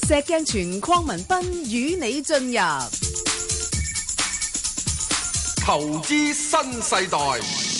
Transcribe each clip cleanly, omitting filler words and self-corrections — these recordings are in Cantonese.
石鏡泉鄺民彬與你進入投資新世代。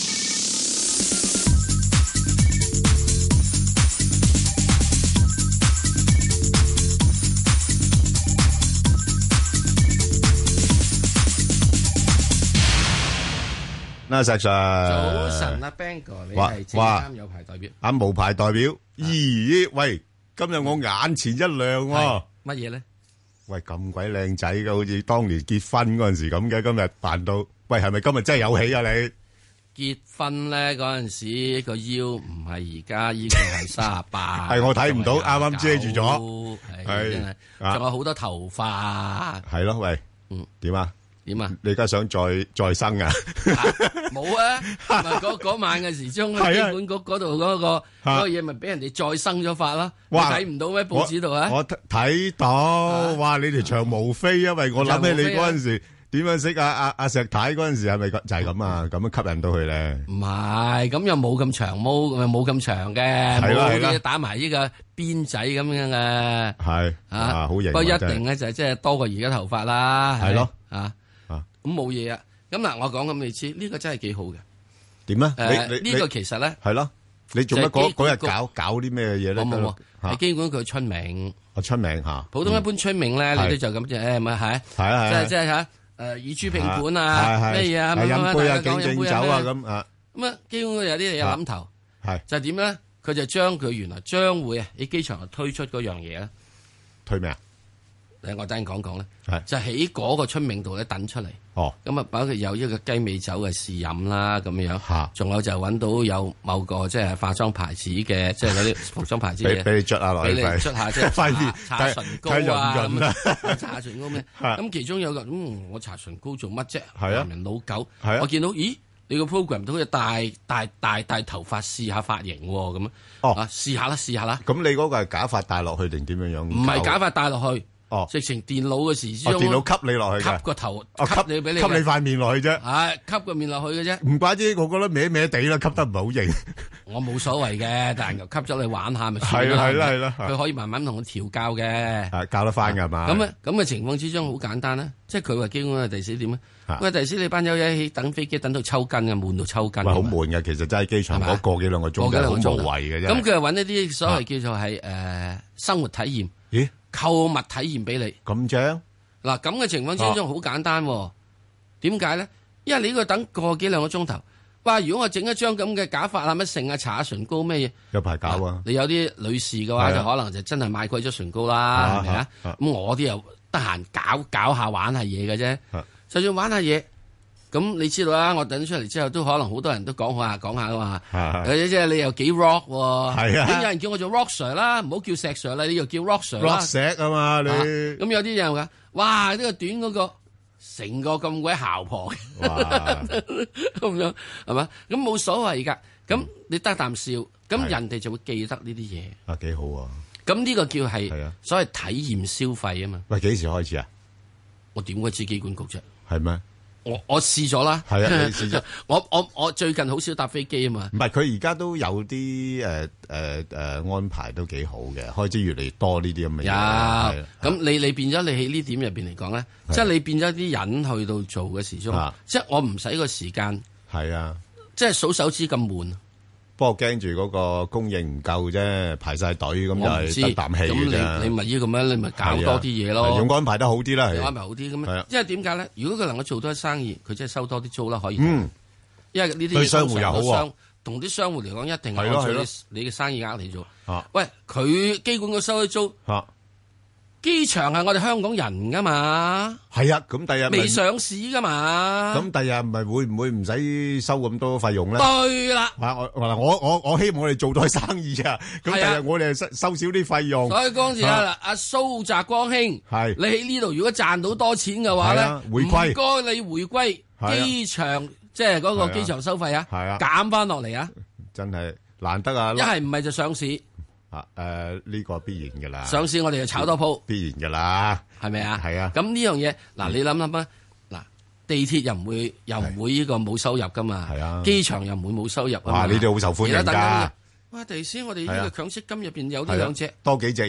嗱，石 Sir， 早晨啊 ，Bang 哥，你係證監有牌代表， 無牌代表，咦？喂，今日我眼前一亮喎， 乜嘢咧？ 喂，咁鬼靚仔嘅，好似當年結婚嗰陣時咁嘅，今日扮到，喂，係咪今日真係有喜啊？你結婚咧嗰陣時個腰唔係而家依個係38， 係我睇唔到，啱啱遮住咗， 係真係，仲有好多頭髮， 係咯，喂，點啊？ 點啊？ 你而家想再生啊？ 冇啊！嗰晚嘅時鐘，機管局嗰度嗰個嘢，咪俾人哋再生咗法啦。你睇唔到咩？報紙度啊？ 我睇到，哇！你條長毛飛，因為我諗起你嗰陣時點樣識阿石太嗰陣時，係咪就係咁啊？咁樣吸引到佢咧？ 唔係，咁又冇咁長毛，冇咁長嘅，冇啲打埋呢個辮仔咁樣嘅。係啊，好型。不過一定咧就即係多過而家頭髮啦。係咯，咁冇嘢啊！咁嗱，我講咁你知，呢個真係幾好嘅。點咧？呢個其實咧係咯，你做乜嗰日搞啲咩嘢咧？ 冇，係機管佢春茗。 春茗嚇。普通一般春茗咧，你都就咁啫，咪係？係啊，即係嚇以珠拼盤啊，咩嘢啊？ 飲杯啊，敬酒啊咁啊。咁啊，機管佢有啲嘢有諗頭，係就係點咧？佢就將佢原來將會喺機場推出嗰樣嘢咧。 推咩啊？ 我等陣講講咧，就喺嗰個春茗度咧等出嚟。哦，咁啊，包括有一個雞尾酒嘅試飲啦，咁樣樣。仲有就揾到有某個即係化妝牌子嘅，即係嗰啲服裝牌子嘅。俾你捽下落去，俾你捽下即係搽唇膏啊，搽唇膏咩？咁其中有個我搽唇膏做乜啫？男人老狗。我見到咦，你個 program 都好似戴頭髮試下髮型喎，咁啊試下啦。咁你嗰個係假髮戴落去定點樣樣？ 唔係假髮戴落去。直情電腦嘅時鐘， 電腦吸你落去嘅， 吸個頭，吸你俾你， 吸你塊面落去啫。 係吸個面落去嘅啫。 唔怪之，我覺得歪歪地啦，吸得唔係好型。 我冇所謂嘅，但係又吸咗你玩下咪算啦。係啦。佢可以慢慢同我調教嘅， 教得翻㗎嘛。 咁嘅情況之中好簡單啦，即係佢話基本係第時點咧？喂，第時你班友一起等飛機等到抽筋嘅，悶到抽筋。好悶嘅，其實真係機場嗰個幾兩個鐘真係好無謂嘅啫。咁佢又揾一啲所謂叫做係生活體驗。咦？購物體驗俾你咁正嗱，咁嘅情況之中好簡單，點解咧？因為你呢個等個幾兩個鐘頭，哇！如果我整一張咁嘅假髮啊，乜剩啊，搽下唇膏咩嘢，有排搞啊！你有啲女士嘅話，就可能就真係買貴咗唇膏啦，係咪啊？咁我啲又得閒搞下玩下嘢嘅啫，就算玩下嘢。咁你知道啦，我等出嚟之後都可能好多人都講下噶嘛，即係你又幾 rock 喎，係啊，有人叫我做 rock Sir 啦，唔好叫石 Sir 啦，你又叫 rock Sir 啦， rock 石啊嘛你， 咁有啲人話，哇呢個短嗰個成個咁鬼姣婆嘅，咁樣係嘛？咁冇所謂噶，咁你得啖笑，咁人哋就會記得呢啲嘢， 啊幾好啊！咁呢個叫係所謂體驗消費啊嘛。 喂，幾時開始啊？ 我點會知機管局啫？ 係咩？ 我試咗啦， 係啊，你試咗。 我最近好少搭飛機啊嘛。唔係，佢而家都有啲安排都幾好嘅，開始越嚟越多呢啲咁嘅嘢。 有，咁你變咗你喺呢點入邊嚟講咧，即係你變咗啲人去到做嘅時鐘，即係我唔使個時間。係啊，即係數手指咁悶。 不過驚住嗰個供應唔夠啫，排晒隊咁就係得啖氣嘅啫。 咁你咪依咁樣，你咪搞多啲嘢咯。 用安排得好啲啦， 安排好啲咁樣。因為點解咧？如果佢能夠做多啲生意，佢真係收多啲租啦，可以。因為呢啲對商戶又好， 同啲商戶嚟講，一定係按照你嘅生意額嚟做。喂，佢機管局收啲租。機場係我哋香港人噶嘛？係啊，咁第日未上市噶嘛？咁第日唔係會唔會唔使收咁多費用咧？對啦，我希望我哋做多生意啊！咁第日我哋收少啲費用。所以嗰陣時阿蘇澤光兄，係你喺呢度如果賺到多錢嘅話咧，回歸唔該你回歸機場，即係嗰個機場收費啊，減翻落嚟啊！真係難得啊！一係唔係就上市。呢個必然噶啦，上市我哋就炒多鋪，必然噶啦，係咪啊？係啊。咁呢樣嘢，嗱你諗諗啊，嗱地鐵又唔會呢個冇收入噶嘛，係啊。機場又唔會冇收入啊嘛。哇，你哋好受歡迎噶。哇，第時我哋呢個強積金入邊有呢兩隻，多幾隻嘢，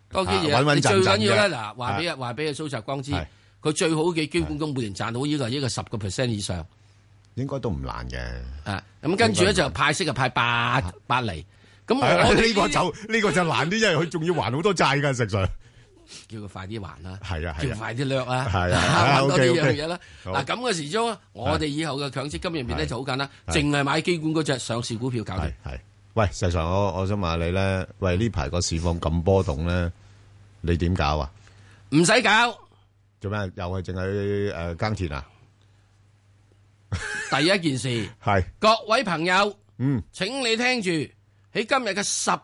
多幾嘢。你最緊要咧嗱，話俾阿蘇澤光知，佢最好嘅基本工每年賺到呢個10% 以上， 應該都唔難嘅。 咁跟住咧就派息就派8厘。咁我呢個就難啲，因為佢仲要還好多債㗎，實在。 叫佢快啲還啦， 係啊， 叫佢快啲掠啦， 係揾多呢樣嘢啦。嗱咁嘅時鐘，我哋以後嘅強積金入面咧就好簡單，淨係買基管嗰隻上市股票搞掂。 係，喂，實在我想問下你咧，喂呢排個市況咁波動咧，你點搞啊？ 唔使搞， 做咩？又係淨係耕田啊？ 第一件事係各位朋友，請你聽住喺今日嘅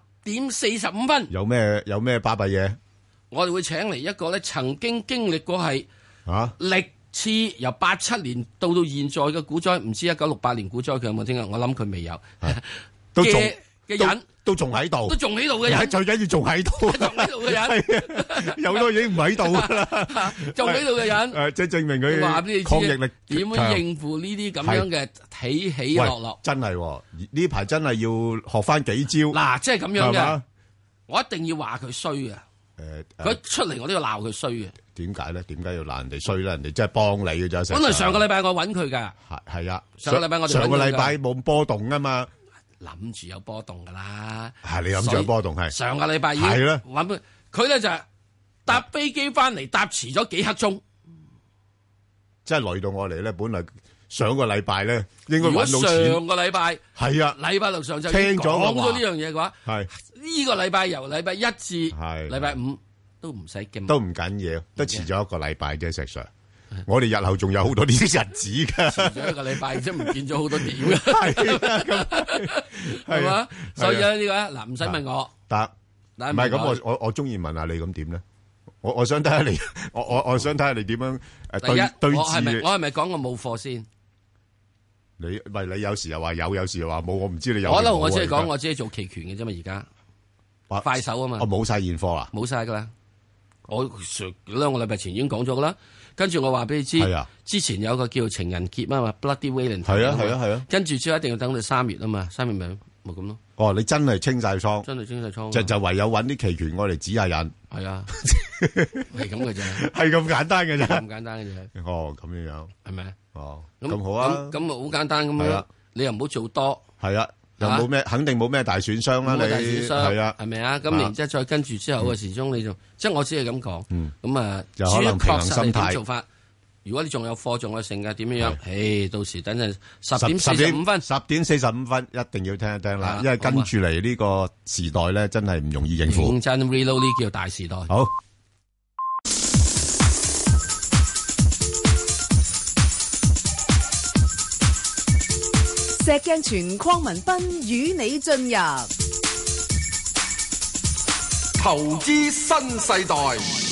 10:45， 有咩巴閉嘢？ 我哋會請嚟一個咧，曾經經歷過係歷次由87年到現在嘅股災，唔知1968年股災佢有冇聽啊？我諗佢未有嘅人都仲喺度， 嘅人， 最緊要仲喺度， 嘅人， 有都已經唔喺度啦， 仲喺度嘅人， 即係證明佢抗逆力點樣應付呢啲咁樣嘅起起落落？ 真係呢排真係要學翻幾招。 嗱，即係咁樣嘅，我一定要話佢衰啊！佢出嚟我都要鬧佢衰嘅。 點解咧？點解要鬧人哋衰咧？人哋真係幫你嘅啫。 本來上個禮拜我揾佢噶， 係啊， 上個禮拜我上個禮拜冇波動啊嘛， 諗住有波動噶啦。 係你諗住有波動係。 上個禮拜已經係啦，揾佢咧就係搭飛機翻嚟，搭遲咗幾刻鐘， 即係累到我嚟咧。本來上個禮拜咧應該揾到錢。 上個禮拜係啊，禮拜六上晝聽咗講咗呢樣嘢嘅話， 係。 呢個禮拜由禮拜1至禮拜5都唔使驚， 都唔緊要，都遲咗一個禮拜啫。石 Sir，我哋日後仲有好多呢啲日子噶， 遲咗一個禮拜，即係唔見咗好多點嘅，係嘛？所以咧呢個嗱，唔使問我， 得唔係咁？我中意問下你咁點咧？我想睇下你，我想睇下你點樣對我係咪講過冇貨先？ 你有時又話有時又話冇，我唔知你有。 可能我只係講我只係做期權嘅啫嘛，而家。快手啊嘛， 我冇晒現貨啦， 冇晒噶啦。我上2個禮拜前已經講咗噶啦，跟住我話俾你知，之前有個叫情人節啊嘛 ，Bloody Valentine 係啊， 跟住之後一定要等到3月啊嘛，3月咪咁咯。 哦，你真係清晒倉， 真係清晒倉， 就唯有揾啲期權我嚟指下人。 係啊，係咁嘅啫， 係咁簡單嘅啫， 咁簡單嘅啫。 哦，咁樣係咪？ 哦，咁好啊， 咁好簡單咁樣，你又唔好做多。 係啊。又冇咩，肯定冇咩大損傷啦。你係啊， 係咪啊？咁然之後再跟住之後嘅時鐘，你就即係我只係咁講。咁啊， 有可能平衡心態做法。如果你仲有貨，仲有剩嘅點樣？誒，到時等陣10:45，10:45 一定要聽一聽啦，因為跟住嚟呢個時代咧，真係唔容易應付。 認真 reload 呢叫大時代。 好。 石鏡泉鄺民彬與你進入投資新世代。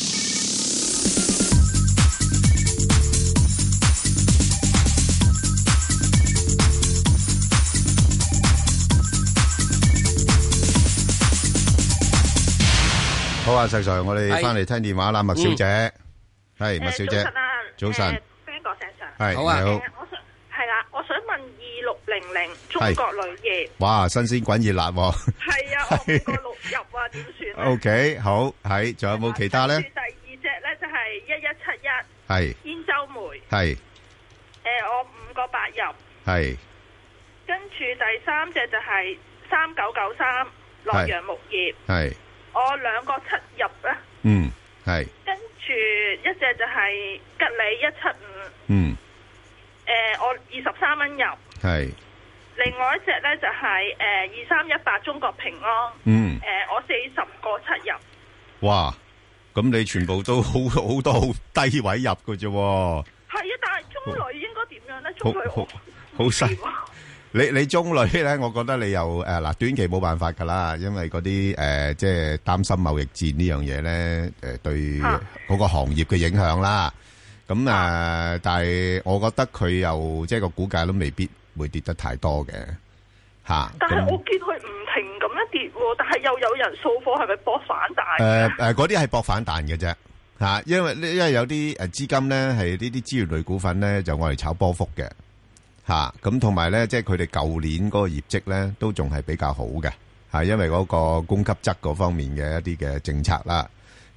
好啊，石 Sir，我哋翻嚟聽電話啦，麥小姐，係麥小姐，早晨 ，Ben 哥，石 Sir， 係好啊， 你好。 我想問2600中國鋁業， 哇，新鮮滾熱辣喎！ 係啊，我5個6入啊，點算 ？O K，好，係，仲有冇其他咧？ 第二隻咧就係1171， 係兗州煤， 係， 我5個8入， 係， 跟住第三隻就係3993洛陽木業， 係， 我2個7入啦， 係， 跟住一隻就係吉利175，我23蚊入，係。另外一隻咧就係2318中國平安，我40個7入。哇！ 咁你全部都好多好低位入嘅啫。係啊，但係中鋁應該點樣咧？中鋁好細。你中鋁咧，我覺得你又嗱短期冇辦法噶啦，因為嗰啲即係擔心貿易戰呢樣嘢咧，對嗰個行業嘅影響啦。咁但係我覺得佢又即係個股價都未必會跌得太多嘅吓。 但係我見佢唔停咁樣跌，但係又有人掃貨，係咪搏反彈？ 嗰啲係搏反彈嘅啫吓，因為有啲資金咧係呢啲資源類股份咧就愛嚟炒波幅嘅吓。咁同埋咧，即係佢哋舊年嗰個業績咧都仲係比較好嘅吓，因為嗰個供給側嗰方面嘅一啲嘅政策啦。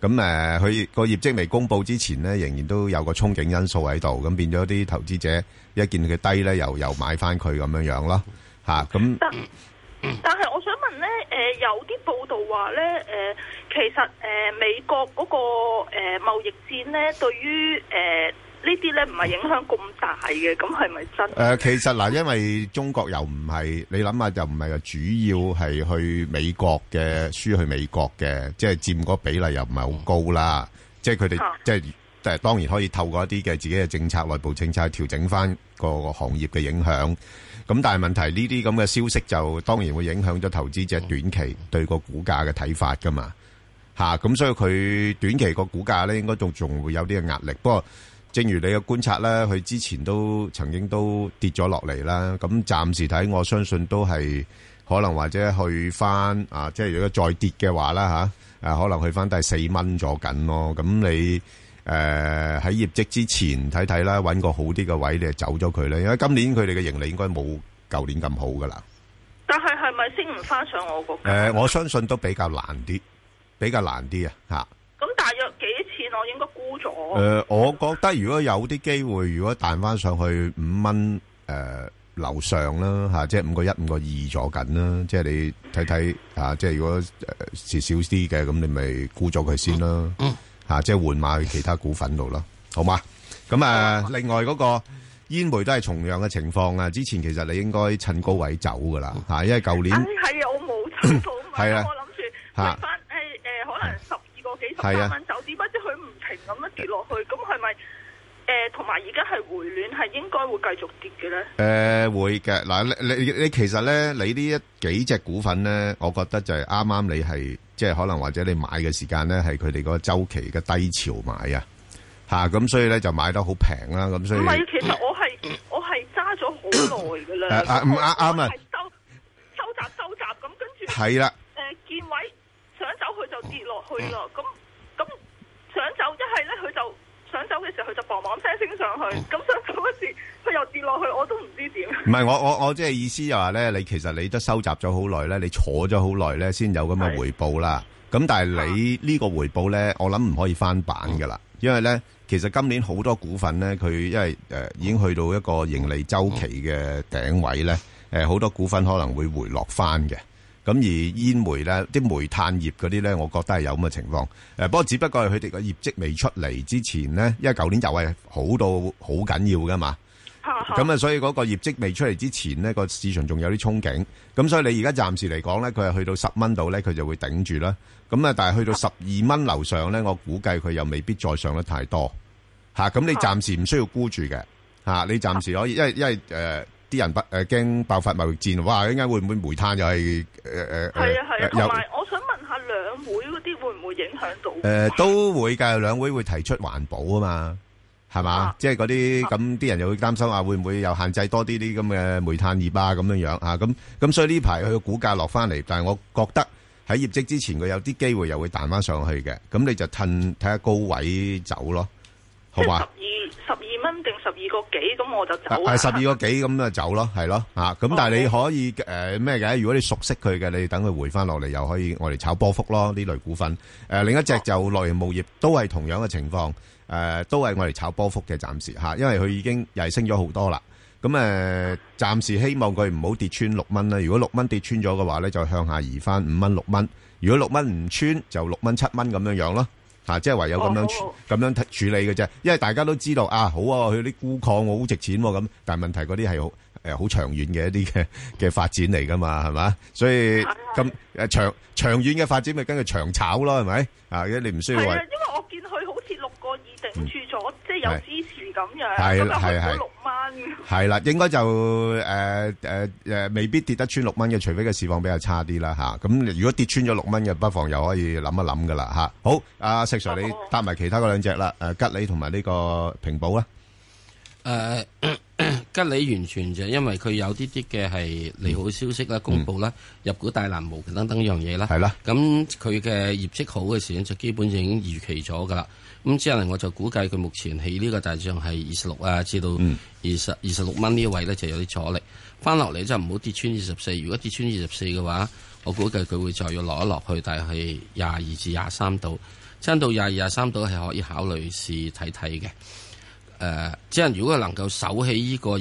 咁佢個業績未公布之前咧，仍然都有個憧憬因素喺度，咁變咗啲投資者一見佢低咧，又買翻佢咁樣樣咯，咁。 但係我想問咧，有啲報道話咧，其實美國嗰個貿易戰咧，對於呢啲咧唔係影響咁大嘅，咁係咪真？ 其實嗱，因為中國又唔係你諗下，就唔係話主要係去美國嘅輸去美國嘅，即係佔嗰比例又唔係好高啦。即係佢哋即係當然可以透過一啲嘅自己嘅政策、內部政策去調整翻個行業嘅影響。咁但係問題呢啲咁嘅消息就當然會影響咗投資者短期對個股價嘅睇法噶嘛。咁所以佢短期個股價咧應該仲會有啲嘅壓力。不過正如你嘅觀察咧，佢之前都曾經都跌咗落嚟啦。咁暫時睇，我相信都係可能或者去翻即係如果再跌嘅話啦可能去翻第4蚊咗緊咯。咁你喺業績之前睇睇啦，揾個好啲嘅位你就走咗佢咧。因為今年佢哋嘅盈利應該冇舊年咁好噶啦。 但係係咪升唔翻上我個價？ 我相信都比較難啲啊。 咁大約幾錢我應該沽咗？ 我覺得如果有啲機會，如果彈翻上去5蚊樓上啦即係5個1、5個2咗緊啦。即係你睇睇即係如果蝕少啲嘅，咁你咪沽咗佢先啦。即係換碼去其他股份度咯，好嘛？咁另外嗰個煙煤都係同樣嘅情況啊。之前其實你應該趁高位走噶啦因為舊年係啊，我冇走到嘛，我諗住回翻可能12個幾13蚊走，點不知佢唔停咁樣跌落去，咁係咪同埋而家係回暖，係應該會繼續跌嘅咧？ 會嘅嗱，你其實咧，你呢幾隻股份咧，我覺得就係啱啱你係即係可能或者你買嘅時間咧，係佢哋個週期嘅低潮買咁所以咧就買得好平啦。咁所以唔係， 其實我係揸咗好耐噶啦。 啱啊， 收集咁跟住係啦。 見位想走佢就跌落去啦。咁想走一係咧佢就。想走嘅時候佢就砰砰聲升上去，咁想走嗰時佢又跌落去，我都唔知點。唔係我即係意思就話咧，你其實你都收集咗好耐咧，你坐咗好耐咧，先有咁嘅回報啦。咁但係你呢個回報咧，我諗唔可以翻版噶啦，因為咧其實今年好多股份咧，佢因為已經去到一個盈利周期嘅頂位咧，好多股份可能會回落翻嘅。咁而煙煤咧，啲煤炭業嗰啲咧，我覺得係有咁嘅情況。不過只不過係佢哋個業績未出嚟之前咧，因為舊年又係好到好緊要噶嘛。咁所以嗰個業績未出嚟之前咧，個市場仲有啲憧憬。咁所以你而家暫時嚟講咧，佢係去到10蚊度咧，佢就會頂住啦。咁但係去到12蚊樓上咧，我估計佢又未必再上得太多。咁你暫時唔需要沽住嘅。你暫時可以，因為啲人驚爆發貿易戰，哇！應該會唔會煤炭又係係啊，同埋我想問下兩會嗰啲會唔會影響到？ 都會㗎，兩會會提出環保啊嘛，係嘛？即係嗰啲咁啲人又會擔心會唔會又限制多啲啲咁嘅煤炭業咁樣樣咁所以呢排佢個股價落翻嚟，但係我覺得喺業績之前佢有啲機會又會彈翻上去嘅，咁你就睇下高位走咯，好嘛 ？12蚊定12個幾咁我就走。 係12個幾咁就走咯，係咯咁但係你可以咩嘅？如果你熟悉佢嘅，你等佢回翻落嚟，又可以我哋炒波幅咯。呢類股份另一隻就內營務業都係同樣嘅情況，都係我哋炒波幅嘅暫時因為佢已經又係升咗好多啦。咁暫時希望佢唔好跌穿6蚊啦。如果6蚊跌穿咗嘅話咧，就向下移翻5蚊6蚊。如果6蚊唔穿，就6蚊7蚊咁樣樣咯。即係唯有咁樣處理嘅啫，因為大家都知道好佢啲鈷礦好值錢咁，但係問題嗰啲係好長遠嘅一啲嘅發展嚟噶嘛，係嘛？所以咁長遠嘅發展咪跟佢長炒咯，係咪？你唔需要話。因為我見佢好似6個2頂住咗，即係有支持咁樣， 係咁就去到6蚊。係啦，應該就未必跌得穿6蚊嘅，除非個市況比較差啲啦咁如果跌穿咗6蚊嘅，不妨又可以諗一諗噶啦好，阿石 Sir 你搭埋其他嗰兩隻啦，吉利同埋呢個平保啦。 吉利完全就係因為佢有啲嘅係利好消息啦，公布啦，入股大藍毛等等樣嘢啦。 係啦， 咁佢嘅業績好嘅時間就基本上已經預期咗噶啦。咁之後我就估計佢目前喺呢個大致上係26至到26蚊呢位咧就有啲阻力，翻落嚟就唔好跌穿24。如果跌穿24嘅話，我估計佢會再要落一落去，大概係22至23度。 真到22、23度係可以考慮試睇睇嘅。即係如果能夠守起呢個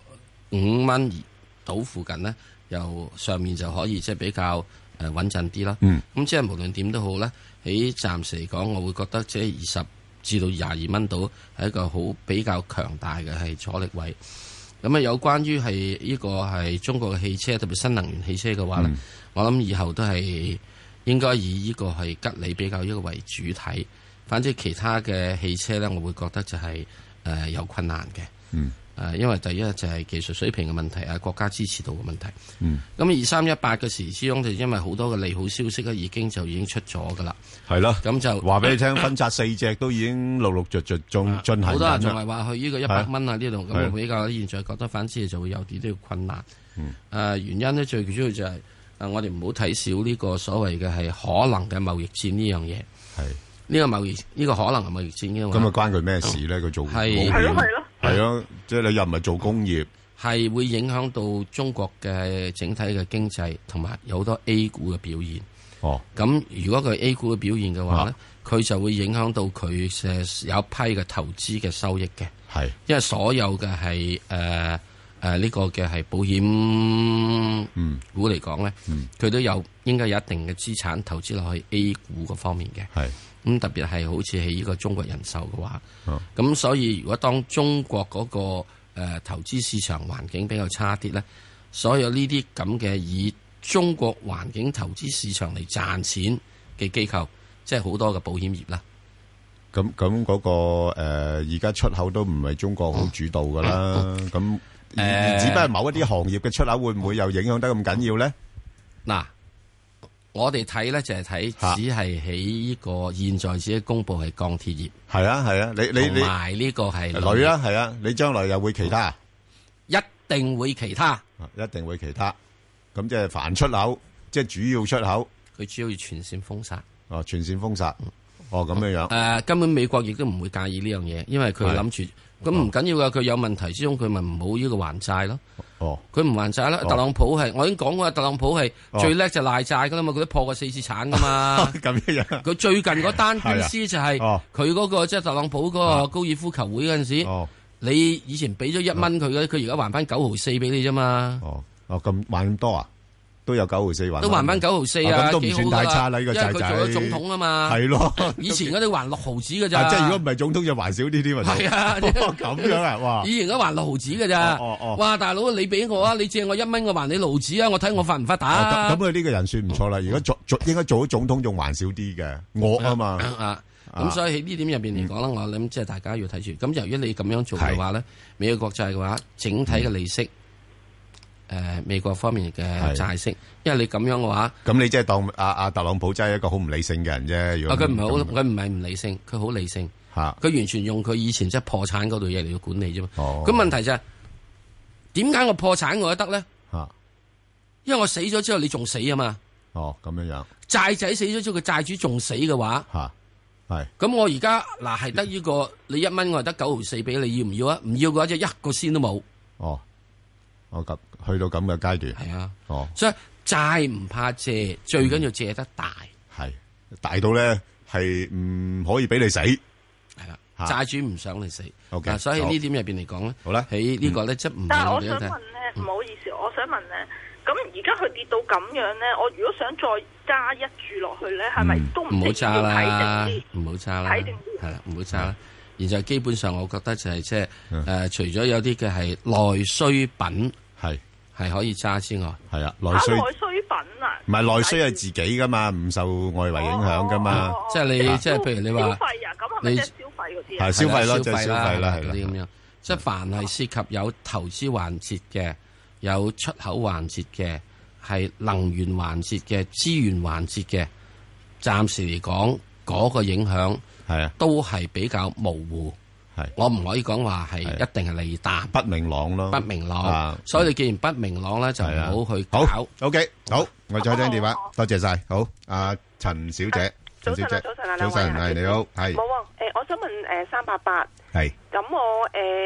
25蚊到附近呢，由上面就可以即係比較穩陣啲啦。咁即係無論點都好咧，喺暫時嚟講，我會覺得即係20至到22蚊度係一個好比較強大嘅係阻力位。咁有關於係呢個係中國嘅汽車，特別新能源汽車嘅話咧，我諗以後都係應該以呢個係吉利比較一個為主體。反正其他嘅汽車咧，我會覺得就係有困難嘅。因為第一就係技術水平嘅問題啊，國家支持度嘅問題。咁2318嘅時之中就因為好多嘅利好消息咧，已經出咗噶啦。係咯，咁就話俾你聽，分拆4隻都已經陸陸續續進行緊。 好多人仲係話去呢個100蚊啊呢度，咁我比較現在覺得反之就會有啲啲困難。原因咧最主要就係我哋唔好睇少呢個所謂嘅係可能嘅貿易戰呢樣嘢。係呢個貿易呢個可能係貿易戰嘅話，咁關佢咩事咧？佢做係咯。係咯，即係你又唔係做工業，係會影響到中國嘅整體嘅經濟，同埋有好多 A 股嘅表現。咁如果佢 A 股嘅表現嘅話咧，佢就會影響到佢有一批嘅投資嘅收益嘅。係，因為所有嘅係呢個嘅係保險股嚟講咧，佢都應該有一定嘅資產投資落去 A 股嗰方面嘅。係。咁特別係好似喺呢個中國人壽嘅話，咁所以如果當中國嗰個投資市場環境比較差啲咧，所有呢啲咁嘅以中國環境投資市場嚟賺錢嘅機構，即係好多嘅保險業啦。咁嗰個而家出口都唔係中國好主導噶啦，咁只不過某一啲行業嘅出口會唔會又影響得咁緊要咧？嗱。我哋睇咧就係睇，只係喺呢個現在自己公布係鋼鐵業。係啊係啊，你同埋呢個係鋁啊係啊，你將來又會其他？一定會其他，一定會其他。咁即係凡出口，即係主要出口，佢主要全線封殺。哦，全線封殺。咁樣樣。根本美國亦都唔會介意呢樣嘢，因為佢諗住咁唔緊要噶，佢有問題之中，佢咪唔好呢個還債咯。佢唔還債啦。特朗普係我已經講過，特朗普係最叻就賴債噶啦嘛，佢都破過4次產噶嘛。咁樣佢最近嗰單官司就係佢嗰個即係特朗普嗰個高爾夫球會嗰陣時，你以前俾咗1蚊佢嘅，佢而家還翻9毫4俾你啫嘛。咁還咁多啊？都有9毫4還，都還翻9毫4啊，咁都唔算太差啦。呢個仔仔，因為佢做咗總統啊嘛。係咯，以前嗰啲還6毫子㗎咋。即係如果唔係總統就還少啲添啊。係啊，咁樣啊，哇！以前嗰還6毫子㗎咋。哇，大佬你俾我啊，你借我1蚊，我還你6毫子啊，我睇我發唔發達。咁佢呢個人算唔錯啦。如果應該做咗總統仲還少啲嘅，惡啊嘛。咁所以喺呢點入邊嚟講咧，我諗即係大家要睇住。咁由於你咁樣做嘅話咧，美國國債嘅話，整體嘅利息。美國方面嘅債息，因為你咁樣嘅話，咁你即係當阿特朗普真係一個好唔理性嘅人啫。如果佢唔係好，佢唔係唔理性，佢好理性。佢完全用佢以前即係破產嗰度嘢嚟到管理啫嘛。咁問題就係點解我破產我都得咧？因為我死咗之後你仲死啊嘛。咁樣樣。債仔死咗之後，個債主仲死嘅話，係。咁我而家嗱係得呢個，你1蚊我係得9毫4俾你，要唔要啊？唔要嘅話就1個仙都冇。咁去到咁嘅階段，係啊，所以債唔怕借，最緊要借得大，係大到咧係唔可以俾你死，係啦，債主唔想你死，所以呢點入邊嚟講咧，好啦，喺呢個咧即係唔。但係我想問咧，唔好意思，我想問咧，咁而家佢跌到咁樣咧，我如果想再加一注落去咧，係咪都唔好揸啦？唔好揸啦，睇定啲，係啦，唔好揸啦。現在基本上，我覺得就係即係除咗有啲嘅係內需品係可以揸之外，係啊，內需品啊，唔係內需係自己噶嘛，唔受外圍影響噶嘛，即係你即係譬如你話消費啊，咁係咪即係消費嗰啲啊？係消費咯，即係消費啦，係嗰啲咁樣。即係凡係涉及有投資環節嘅、有出口環節嘅、係能源環節嘅、資源環節嘅，暫時嚟講嗰個影響。係啊，都係比較模糊。係，我唔可以講話係一定係利淡，不明朗咯，不明朗。所以你既然不明朗咧，就唔好去搞。好 ，OK， 好，我再聽電話，多謝晒。好，阿陳小姐，陳小姐，早晨啊，早晨，係你好，係。冇啊，我想問388，係。咁我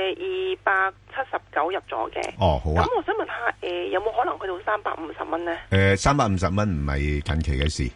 279入咗嘅。哦，好啊。咁我想問下，有冇可能去到350蚊咧？350蚊唔係近期嘅事。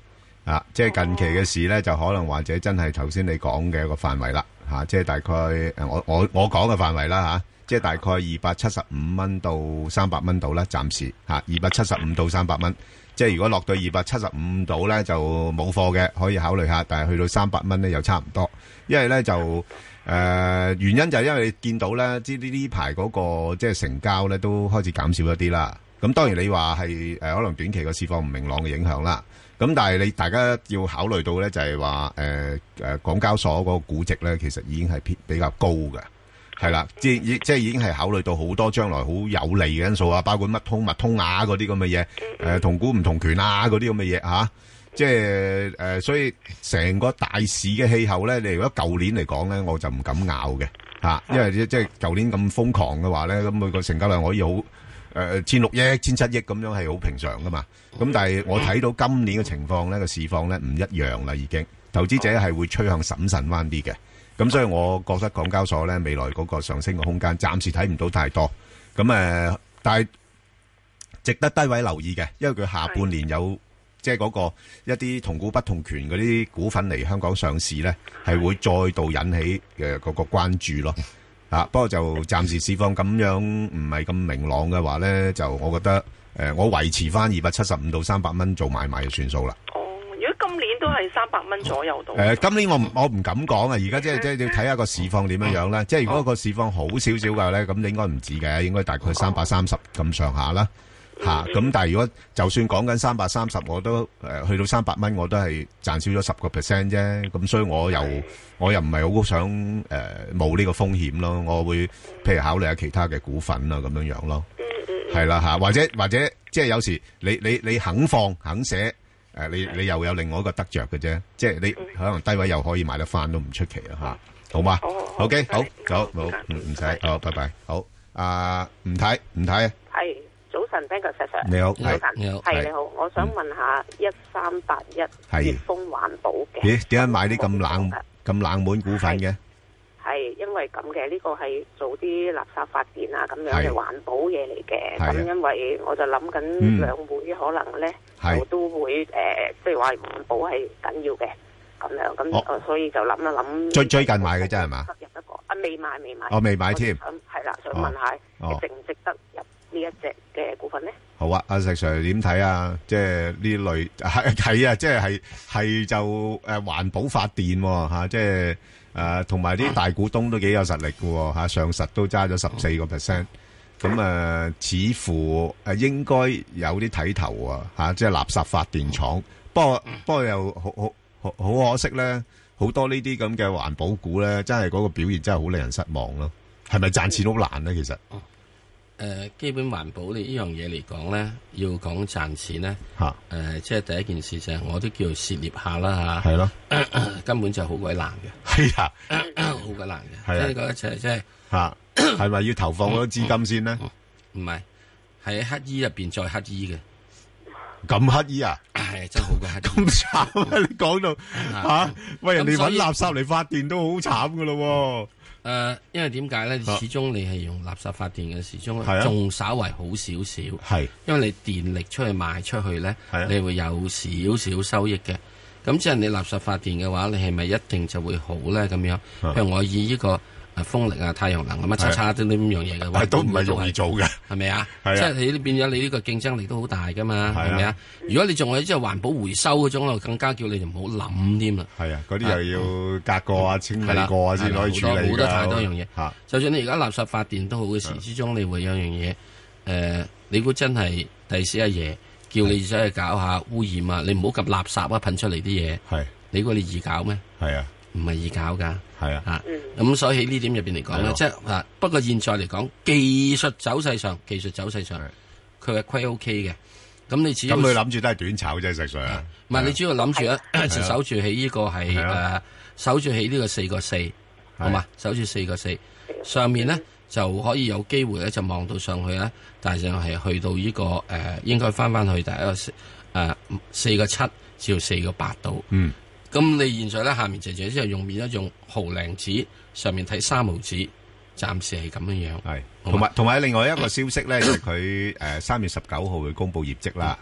即係近期嘅市咧，就可能或者真係頭先你講嘅一個範圍啦，即係大概我講嘅範圍啦，即係大概275蚊到300蚊度啦，暫時275到300蚊。即係如果落到275度咧，就冇貨嘅，可以考慮下。但係去到300蚊咧，又差唔多。因為咧就原因就係因為你見到咧，呢排嗰個即係成交咧都開始減少一啲啦。咁當然你話係可能短期個市況唔明朗嘅影響啦。咁但係大家要考慮到咧，就係話港交所嗰個估值咧，其實已經係比較高嘅。係啦，即係已經係考慮到好多將來好有利嘅因素啊，包括乜通嗰啲咁嘅嘢，同股唔同權嗰啲咁嘅嘢即係所以成個大市嘅氣候咧，你如果舊年嚟講咧，我就唔敢拗嘅因為即係舊年咁瘋狂嘅話咧，咁佢個成交量可以好1600億、1700億咁樣係好平常噶嘛。咁但係我睇到今年嘅情況咧，個市況咧唔一樣啦，已經投資者係會趨向審慎翻啲嘅。咁所以我覺得港交所咧未來嗰個上升嘅空間暫時睇唔到太多。咁但係值得低位留意嘅，因為佢下半年有即係嗰個一啲同股不同權嗰啲股份嚟香港上市咧，係會再度引起嘅嗰個關注咯。不過就暫時市況咁樣唔係咁明朗嘅話咧，就我覺得我維持翻275到300蚊做買賣就算數啦。 今年都係300蚊左右到。 今年我唔敢講啊！而家即係要睇下個市況點樣樣啦。即係如果個市況好少少嘅咧，咁應該唔止嘅，應該大概330咁上下啦。咁但係如果就算講緊330，我都去到300蚊，我都係賺少咗10% 啫。咁所以我又唔係好想冒呢個風險咯。我會譬如考慮下其他嘅股份啊咁樣樣咯。係啦或者即係有時你肯放肯寫。你又有另外一個得着嘅啫，即係你可能低位又可以買得翻都唔出奇啦好嘛？OK，好，走，冇唔使，好，拜拜，好，吳太， 係早晨 ，Ben 哥 Sir， 你好， 早晨，係你好，我想問下1381粵豐環保嘅， 咦？點解買啲咁冷門股份嘅？ 係因為咁嘅，呢個係做啲垃圾發電啊咁樣嘅環保嘢嚟嘅。咁因為我就諗緊兩會可能咧，我都會即係話環保係緊要嘅咁樣。咁所以就諗一諗。最近買嘅啫係嘛？入一個未買。我未買添。係啦，想問下值唔值得入呢一隻嘅股份咧？ 好啊，阿石 Sir 點睇啊？即係呢類係啊，即係就環保發電嚇，即係。同埋啲大股東都幾有實力嘅上實都揸咗14%，咁似乎應該有啲睇頭即係垃圾發電廠。不過又好可惜咧，好多呢啲咁嘅環保股咧，真係嗰個表現真係好令人失望咯。係咪賺錢好難咧？其實基本環保呢樣嘢嚟講咧，要講賺錢咧，即係第一件事就係我都叫涉獵下啦嚇，係咯，根本就好鬼難嘅，係啊，好鬼難嘅，即係嗰一隻即係嚇， 係咪要投放好多資金先咧？ 唔係，係喺乞衣入邊再乞衣嘅， 咁乞衣啊？ 係真係好鬼乞衣， 咁慘啊！你講到嚇，喂人哋揾垃圾嚟發電都好慘噶咯。 因為點解咧？始終你係用垃圾發電嘅，始終仲稍為好少少。係，因為你電力出去賣出去咧，你會有少少收益嘅。咁即係你垃圾發電嘅話，你係咪一定就會好咧？咁樣，譬如我以呢個風力啊、太陽能咁乜叉啲呢樣嘢嘅話， 都唔係容易做嘅，係咪啊？即係你變咗你呢個競爭力都好大噶嘛，係咪啊？如果你仲係即係環保回收嗰種咯，更加叫你就唔好諗添啦。係啊，嗰啲又要隔過啊、清理過啊先可以處理。好多太多樣嘢。就算你而家垃圾發電都好嘅時之中，你會有樣嘢你估真係第時阿爺叫你走去搞下污染啊？你唔好咁垃圾啊，噴出嚟啲嘢。係你估你易搞咩？係啊，唔係易搞噶。係啊，咁所以喺呢點入邊嚟講咧，即係不過現在嚟講，技術走勢上，佢係虧 OK 嘅。咁你只要咁佢諗住都係短炒啫，實際啊。唔係你主要諗住咧，就守住喺呢個係守住喺呢個4.4，好嘛？守住4.4上面咧就可以有機會咧就望到上去咧，但係就係去到呢個應該翻去第一個4.7至到4.8度。嗯。咁你現在咧下面直接之後用面一用毫零紙，上面睇3毫紙，暫時係咁樣樣。係，同埋另外一個消息咧，就係佢3月19號會公布業績啦。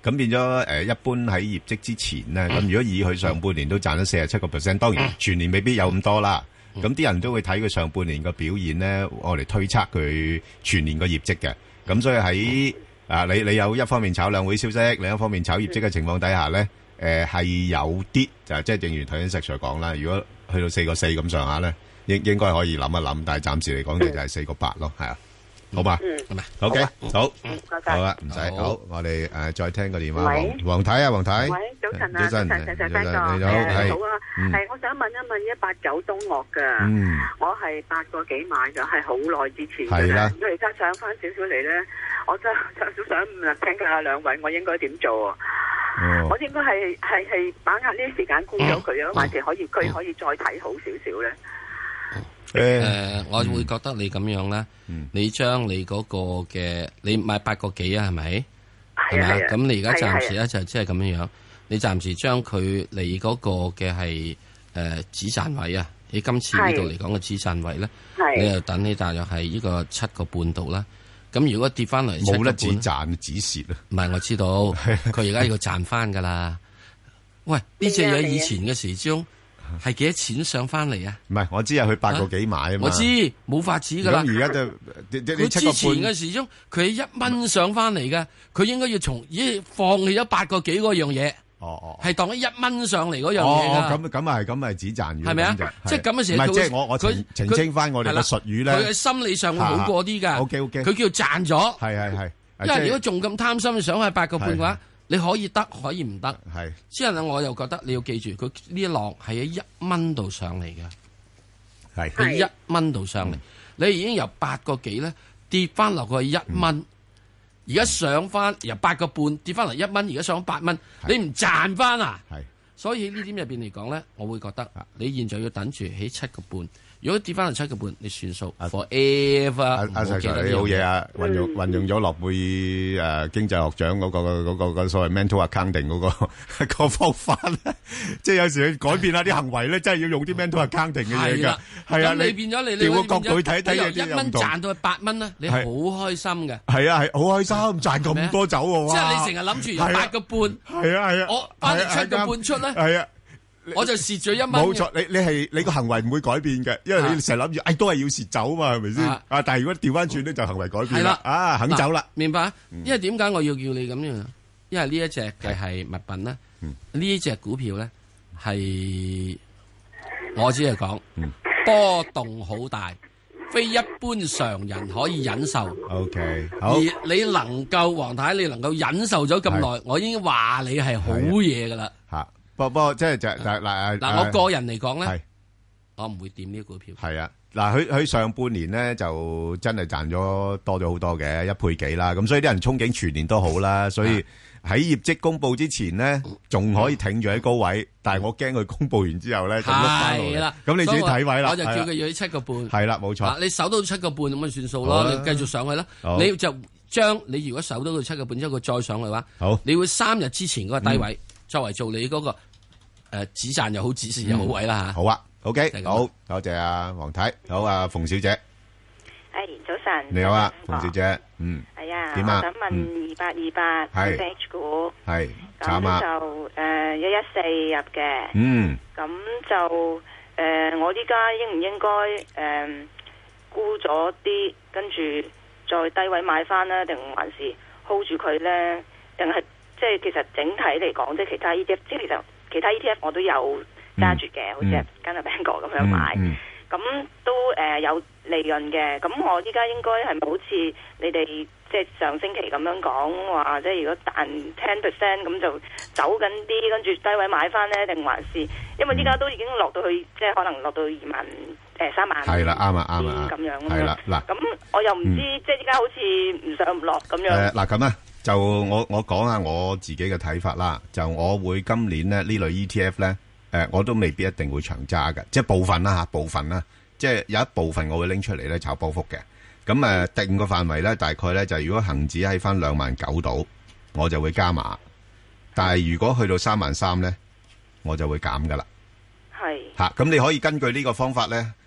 咁變咗一般喺業績之前咧，咁如果以佢上半年都賺咗47%，當然全年未必有咁多啦。咁啲人都會睇佢上半年個表現咧，我嚟推測佢全年個業績嘅。咁所以喺你有一方面炒兩會消息，另一方面炒業績嘅情況底下咧，係有啲就即係正如頭先石 Sir 講啦，如果去到4.4咁上下咧，應該可以諗一諗，但係暫時嚟講就係4.8咯，係啊。好嘛，係咪 ？OK， 好，好啦，唔使，好，我哋再聽個電話，黃太啊，黃太， 喂，早晨啊， 早晨， 你好， 你好， 係，我想問一問189東岳嘅，我係8個幾買嘅，係好耐之前嘅啦，如果而家上翻少少嚟咧，我真係想請教下兩位，我應該點做啊？我應該係把握呢啲時間沽咗佢啊，還是佢可以再睇好少少咧？ 我會覺得你咁樣咧，你將你嗰個嘅你買8個幾啊，係咪？係咪？咁你而家暫時咧就即係咁樣樣，你暫時將佢你嗰個嘅係止賺位啊，你今次呢度嚟講嘅止賺位咧，你就等你大約係呢個7個半度啦。咁如果跌翻嚟冇得止賺止蝕啊？ 唔係，我知道佢而家要賺翻噶啦。喂，呢隻嘢以前嘅時鐘。係幾多錢上翻嚟啊？唔係，我知啊，佢8個幾買啊嘛。 我知冇法子噶啦。 咁而家就佢之前嘅時鐘，佢係1蚊上翻嚟嘅，佢應該要放棄咗8個幾嗰樣嘢。係當咗1蚊上嚟嗰樣嘢咁係止賺嘅。 係咪啊？即係咁嘅時候， 即係我澄清翻我哋嘅術語咧。 佢嘅心理上會好過啲噶。 OK， 佢叫賺咗。 係。 因為如果仲咁貪心想去8個半嘅話。你可以得，可以唔得。係，之後咧，我又覺得你要記住，佢呢一浪係喺1蚊度上嚟嘅，係喺1蚊度上嚟。你已經由8個幾咧跌翻落去1蚊，而家上翻由8個半跌翻嚟1蚊，而家上8蚊，你唔賺翻啊？係，所以喺呢點入邊嚟講咧，我會覺得你現在要等住喺7個半。如果跌翻嚟7個半，你算數 forever。阿 Sir， 你好嘢啊！運用咗諾貝爾經濟學獎嗰個所謂 mental accounting 嗰個方法咧，即係有時去改變下啲行為咧，真係要用啲 mental accounting 嘅嘢㗎。係啊，你變咗你調個角度去睇睇，由1蚊賺到去8蚊咧，你好開心嘅。係啊，係好開心，賺咁多走喎！即係你成日諗住由8個半，係啊，我翻嚟7個半出咧，係啊。我就蝕咗1蚊。冇錯，你個行為唔會改變嘅，因為你成日諗住，都係要蝕走嘛，係咪先？但係如果調翻轉咧，就行為改變啦。肯走啦。明白？因為點解我要叫你咁樣？因為呢一隻嘅係物品咧，呢隻股票咧係我只係講波動好大，非一般常人可以忍受。OK， 好。而你能夠黃太，你能夠忍受咗咁耐，我已經話你係好嘢噶啦。吓。不過即係嗱，我個人嚟講咧，我唔會掂呢個股票。係啊，嗱，佢上半年咧就真係賺咗多咗好多嘅1倍幾啦，咁所以啲人憧憬全年都好啦，所以喺業績公布之前咧，仲可以挺住喺高位，但係我驚佢公布完之後咧就碌翻落嚟。咁你自己睇位啦。我就叫佢要喺7個半。係啦，冇錯。你守到7個半咁咪算數咯，你繼續上去啦。你就將你如果守到7個半之後佢再上去嘅話，好，你會3日之前嗰個低位。作為做你嗰個止賺又好止蝕又好位啦吓，好啊 ，OK， 好，多謝阿黃太，好啊，馮小姐， 早晨， 你好啊，馮小姐， 係啊， 點啊？ 我想問2828係 H 股， 係咁就114入嘅，咁就我依家應唔應該沽咗啲，跟住再低位買翻呢？定還是 hold 住佢咧？定係？即係其實整體嚟講，即係其他 ETF，即係其實其他 ETF 我都有揸住嘅，好似跟阿 Bang 哥咁樣買，咁都有利潤嘅。咁我依家應該係咪好似你哋即係上星期咁樣講話，即係如果彈 10% 咁就走緊啲，跟住低位買翻呢？定還是因為依家都已經落到去，即係可能落到3萬係啦，啱啊咁樣係啦嗱。咁我又唔知，即係依家好似唔上唔落咁樣。 嗱咁啊。就我講下我自己嘅睇法啦，就我會今年咧呢類 ETF 咧，我都未必一定會長揸嘅，即係部分啦，即係有一部分我會拎出嚟咧炒波幅嘅。咁定個範圍咧，大概咧就如果恒指喺翻29,000度，我就會加碼。但係如果去到33,000咧，我就會減噶啦。係嚇，咁你可以根據呢個方法咧，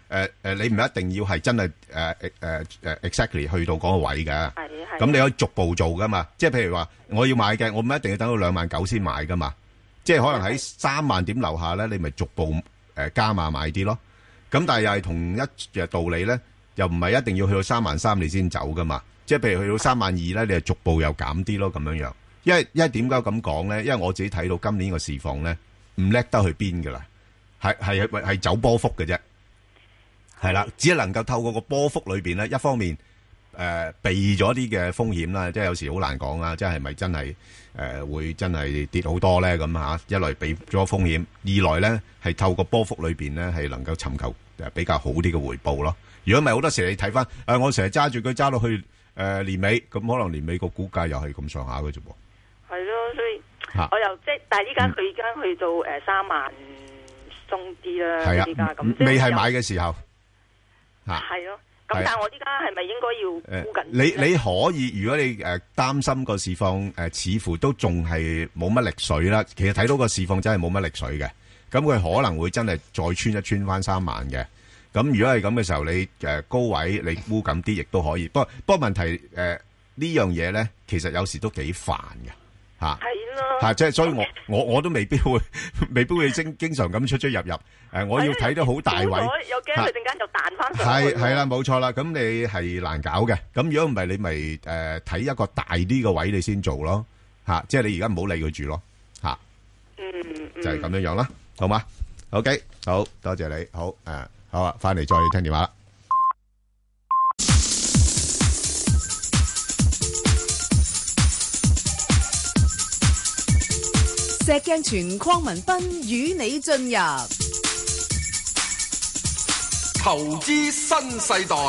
你唔一定要係真係exactly 去到嗰個位嘅。咁你可以逐步做噶嘛。即係譬如話，我要買嘅，我唔一定要等到29,000先買噶嘛。即係可能喺3萬點樓下咧，你咪逐步加碼買啲咯。咁但係又係同一嘅道理咧，又唔係一定要去到33,000你先走噶嘛。即係譬如去到32,000咧，你係逐步又減啲咯咁樣樣。因為點解咁講咧？因為我自己睇到今年個市況咧，唔叻得去邊噶啦，係走波幅嘅啫。係啦，只係能夠透過個波幅裏邊咧，一方面避咗啲嘅風險啦，即係有時好難講啦，即係咪真係會真係跌好多咧咁嚇？一來避咗風險，二來咧係透過波幅裏邊咧係能夠尋求比較好啲嘅回報咯。如果唔係好多時你睇翻我成日揸住佢揸到去年尾，咁可能年尾個股價又係咁上下嘅啫噃。係咯，所以我又即係，但係依家佢而家去到3萬鬆啲啦，依家咁未係買嘅時候。 係咯，咁但係我依家係咪應該要沽緊？ 你可以，如果你擔心個市況似乎都仲係冇乜力水啦，其實睇到個市況真係冇乜力水嘅，咁佢可能會真係再穿翻3萬嘅。咁如果係咁嘅時候，你高位你沽緊啲亦都可以。不過問題呢樣嘢咧，其實有時都幾煩嘅嚇。係咯，即係所以我都未必會經常咁出入。我要睇得好大位， 又驚佢陣間就彈翻上去。 係啦，冇錯啦。咁你係難搞嘅。咁如果唔係，你咪睇一個大啲嘅位你先做咯。即係你而家唔好理佢住咯。就係咁樣樣啦，好嘛 ？OK， 好多謝你。好好啊，翻嚟再聽電話啦。 石鏡泉鄺民彬與你進入投資新世代。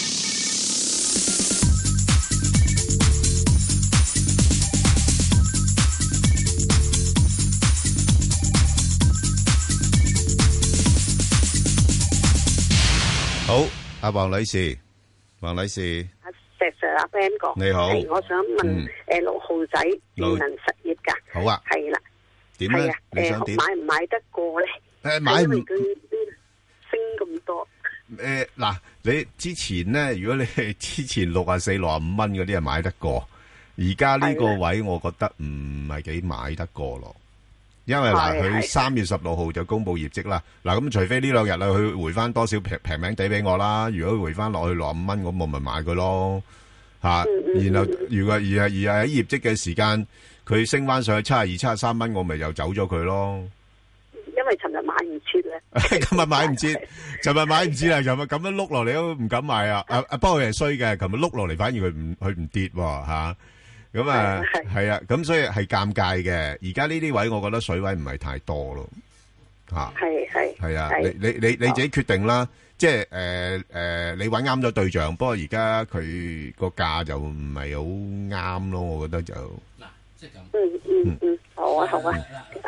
好，阿黃女士，阿石 Sir 阿 Ben 哥， 你好， 我想問6號仔電能實業㗎， 好啊， 係啦， 點咧？你想點？ 買唔買得過咧？ 買唔因為佢升咁多。 嗱，你之前咧，如果你係之前64、65蚊嗰啲係買得過，而家呢個位我覺得唔係幾買得過咯。因為嗱，佢3月16號就公布業績啦。嗱，咁除非呢2日啦，佢回翻多少平名地俾我啦。如果回翻落去65蚊，咁我咪買佢咯。然後如果而係喺業績嘅時間，佢升翻上去72、73蚊，我咪又走咗佢咯。 因為尋日買唔切咧， 今日買唔切，尋日買唔切啦，尋日咁樣碌落嚟都唔敢買啊！不過佢係衰嘅，尋日碌落嚟反而佢唔跌喎。咁係啊，咁所以係尷尬嘅。而家呢啲位，我覺得水位唔係太多咯。係啊，你自己決定啦。即係你揾啱咗對象，不過而家佢個價就唔係好啱咯。我覺得就嗱，即係咁。 好啊，好啊。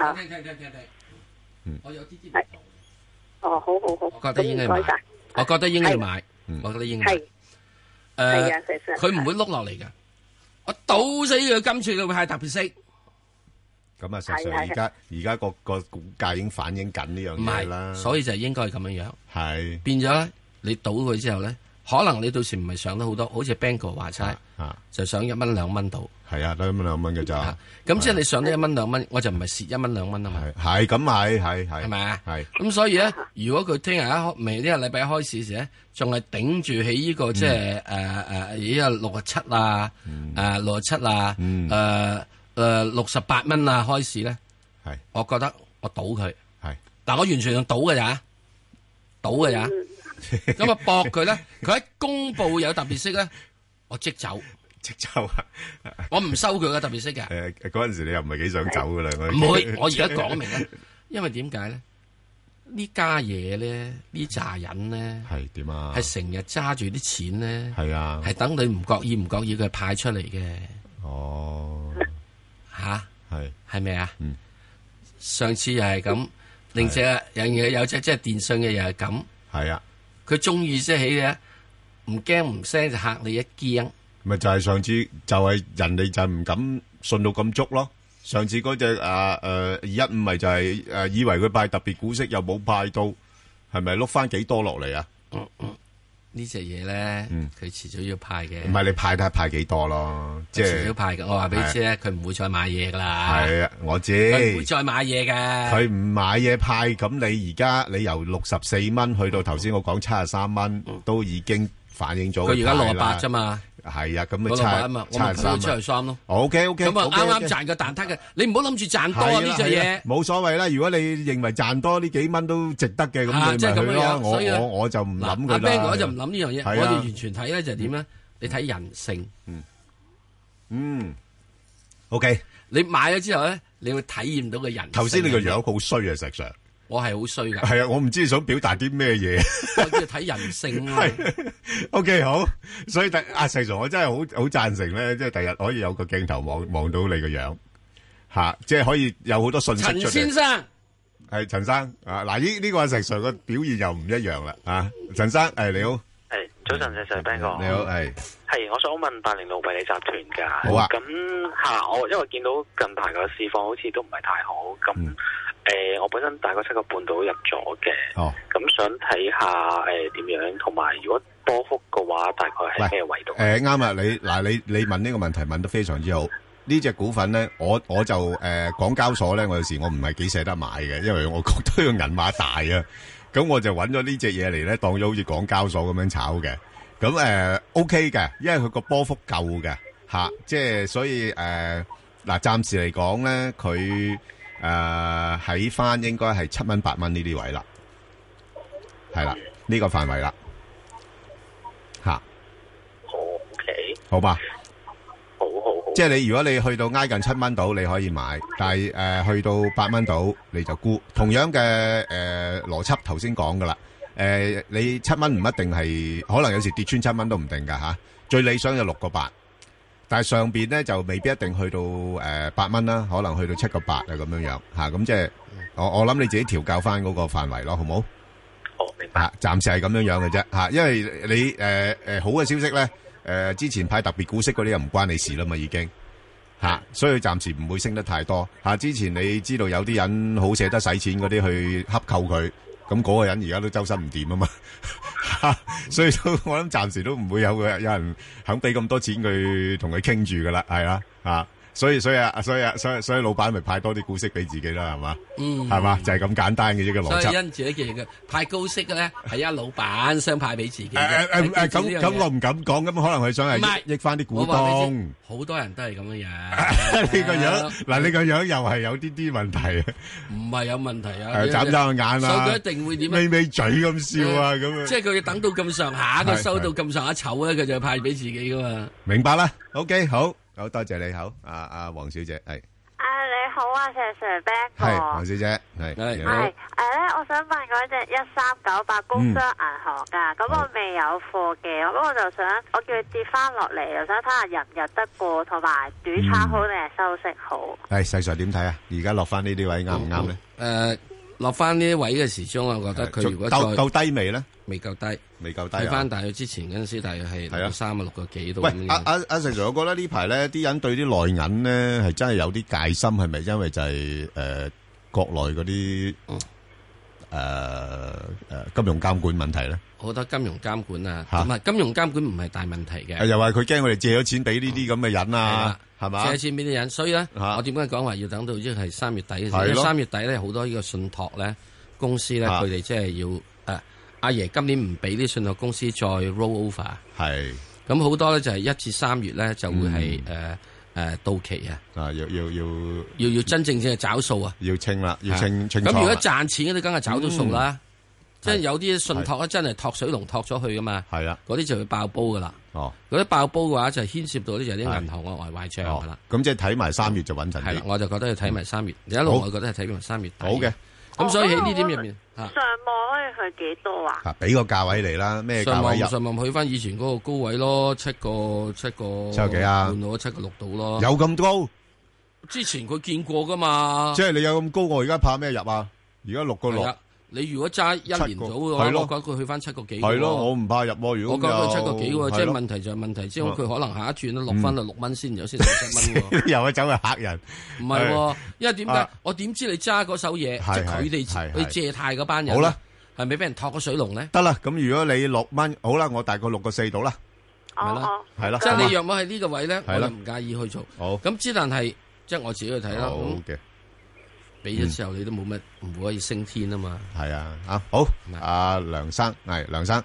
我有啲係。好。 我覺得應該買。我覺得應該買。我覺得應該買。係啊，佢唔會碌落嚟㗎。我倒死佢今次佢會係特別息。 咁啊，實際而家個股價已經反映緊呢樣嘢啦。 所以就應該係咁樣樣。係變咗咧，你倒佢之後咧，可能你到時唔係上得好多，好似 Bang 哥話齋，就上1蚊2蚊到。係啊，得1蚊2蚊嘅咋。咁即係你上得1蚊2蚊，我就唔係蝕1蚊2蚊啊嘛。 係咁係。係咪啊？係。咁所以咧，如果佢聽日未呢個禮拜一開始時咧，仲係頂住喺呢個即係依個67啊，67啊，68蚊啊開始咧，係，我覺得我賭佢，係，但我完全用賭嘅咋，咁啊搏佢咧，佢一公布有特別息咧，我即走啊，我唔收佢嘅特別息嘅。 嗰陣時你又唔係幾想走噶啦， 唔會，我而家講明啦，因為點解咧？呢家嘢咧，呢扎人咧，係點啊？係成日揸住啲錢咧，係啊，係等你唔覺意佢派出嚟嘅。哦。吓，係咪啊？上次又係咁，另隻有隻即係電信嘅又係咁。係啊，佢中意即係起嘅，唔驚唔聲就嚇你一驚。 咪就係上次就係人哋就唔敢信到咁足咯。上次嗰隻215咪就係以為佢派特別股息又冇派到，係咪碌翻幾多落嚟啊？ 呢隻嘢咧，佢遲早要派嘅。 唔係你派得派幾多咯？即係遲早派嘅。我話俾你知咧，佢唔會再買嘢噶啦。 係啊，我知。 佢唔會再買嘢嘅。 佢唔買嘢派，咁你而家你由64蚊去到頭先我講73蚊，都已經反映咗。 佢而家68啫嘛。 係啊，咁咪73 出嚟三咯。 OK， 咁啊啱啱賺個蛋撻嘅，你唔好諗住賺多呢隻嘢。 冇所謂啦，如果你認為賺多呢幾蚊都值得嘅，咁你咪去咯。我就唔諗佢啦。 阿 Ben 哥就唔諗呢樣嘢，我哋完全睇咧就係點咧？你睇人性。 OK。 你買咗之後咧，你會體驗到個人性。 頭先你個樣好衰啊，石 Sir。 我係好衰噶。 係啊，我唔知你想表達啲咩嘢。 我要睇人性啊。 OK， 好。所以石 Sir，我真係好贊成咧，即係第日可以有個鏡頭望到你個樣，即係可以有好多信息出嚟。 陳先生。 係陳生啊，嗱呢個石 Sir 個表現又唔一樣啦啊，陳生你好。 早晨，石 Sir Ben 哥。 你好， 係，我想問8065迷你集團㗎。 好啊。 咁我因為見到近排個市況好似都唔係太好，咁我本身大概7個半到入咗嘅。哦。咁想睇下點樣，同埋如果波幅嘅話，大概係咩位度？ 啱啊，你問呢個問題問得非常之好。呢隻股份咧，我就港交所咧，我有時我唔係幾捨得買嘅，因為我覺得個銀碼大啊。咁我就揾咗呢隻嘢嚟咧，當咗好似港交所咁樣炒嘅。咁OK 嘅，因為佢個波幅夠嘅即係所以暫時嚟講咧，佢喺翻應該係7蚊8蚊呢啲位啦，係啦，呢個範圍啦 OK， 好吧。 好， 即係如果你去到挨近7蚊度，你可以買，但係去到8蚊度你就沽。同樣嘅邏輯頭先講噶啦，你7蚊唔一定係，可能有時跌穿7蚊都唔定噶最理想就6個8，但係上邊咧就未必一定去到8蚊啦，可能去到7個8啊咁樣樣咁即係我諗你自己調校翻嗰個範圍咯，好冇？ 好，明白。 暫時係咁樣樣嘅啫因為你好嘅消息咧。之前派特別股息嗰啲又唔關你事啦嘛，已經所以暫時唔會升得太多之前你知道有啲人好捨得使錢嗰啲去洽購佢，咁嗰個人而家都周身唔掂啊嘛所以我諗暫時都唔會有人肯俾咁多錢佢同佢傾住噶啦，係啦所以老闆咪派多啲股息俾自己啦，係嘛？係嘛？就係咁簡單嘅啫個邏輯。 所以因住呢件嘅派高息嘅咧，係老闆想派俾自己。 咁我唔敢講，咁可能佢想係益翻啲股東。 好多人都係咁樣樣。你個樣嗱，你個樣又係有啲問題。 唔係有問題啊！ 眨眨眼啊！ 所以佢一定會點？ 咪咪嘴咁笑啊！咁即係佢要等到咁上下，佢收到咁上下籌咧，佢就派俾自己噶嘛。 明白啦。OK， 好多謝你，好黃小姐係。 你好啊，石 Sir Ben 哥。 係黃小姐係。 係我想問嗰隻1398工商銀行噶，咁我未有貨嘅，咁我就想我叫佢跌翻落嚟，又想睇下入唔入得過，同埋短炒好定係收息好？ 係細 Sir 點睇啊？而家落翻呢啲位啱唔啱咧？ 落翻呢啲位嘅時鐘，我覺得佢如果夠低未咧？ 未夠低， 未夠低。 睇翻大約之前嗰陣時，大約係6個幾度。 喂，阿石 Sir，我覺得呢排咧，啲人對啲內銀咧係真係有啲戒心，係咪因為就係國內嗰啲金融監管問題咧？ 我覺得金融監管唔係金融監管唔係大問題嘅。 又話佢驚我哋借咗錢俾呢啲咁嘅人啊，係嘛？ 借咗錢俾啲人，所以咧，我點解講話要等到即係3月底嘅時候？因為3月底咧好多呢個信託咧公司咧，佢哋即係要阿爺今年唔俾啲信託公司再 roll over，係咁好多咧就係1至3月咧就會係到期啊！要真正係找數啊！ 要清啦，要清。咁如果賺錢嗰啲梗係找到數啦，即係有啲信託咧真係托水龍托咗去噶嘛，係啊，嗰啲就會爆煲噶啦。哦，嗰啲爆煲嘅話就牽涉到啲就係啲銀行嘅壞賬噶啦。咁即係睇埋3月就穩陣啲。 係啦，我就覺得要睇埋3月，一路我覺得係睇埋3月底。 好嘅。 咁所以喺呢點入面， 上網可以去幾多啊？ 俾個價位嚟啦，咩價位入？ 上網去翻以前嗰個高位咯，7個幾啊？ 半到7個6到咯。 有咁高？ 之前佢見過噶嘛？ 即係你有咁高，我而家怕咩入啊？而家6個6。 你如果揸1年到嘅話，我覺得佢去翻7個幾。 係咯，我唔怕入喎。如果我覺得佢7個幾喎，即係問題就係問題，即係佢可能下一轉都落翻到6蚊先，有先7蚊喎。 又係走去嚇人。 唔係喎，因為點解？我點知你揸嗰手嘢，即係佢哋去借貸嗰班人。 好啦， 係咪俾人托個水龍咧？ 得啦，咁如果你6蚊，好啦，我大概6個4到啦， 係啦， 係啦。 即係你若果喺呢個位咧，我就唔介意去做。 好， 咁之但係即係我自己去睇啦。 好嘅， 俾咗之後你都冇乜唔可以升天啊嘛。 係啊，好，阿梁生係梁生，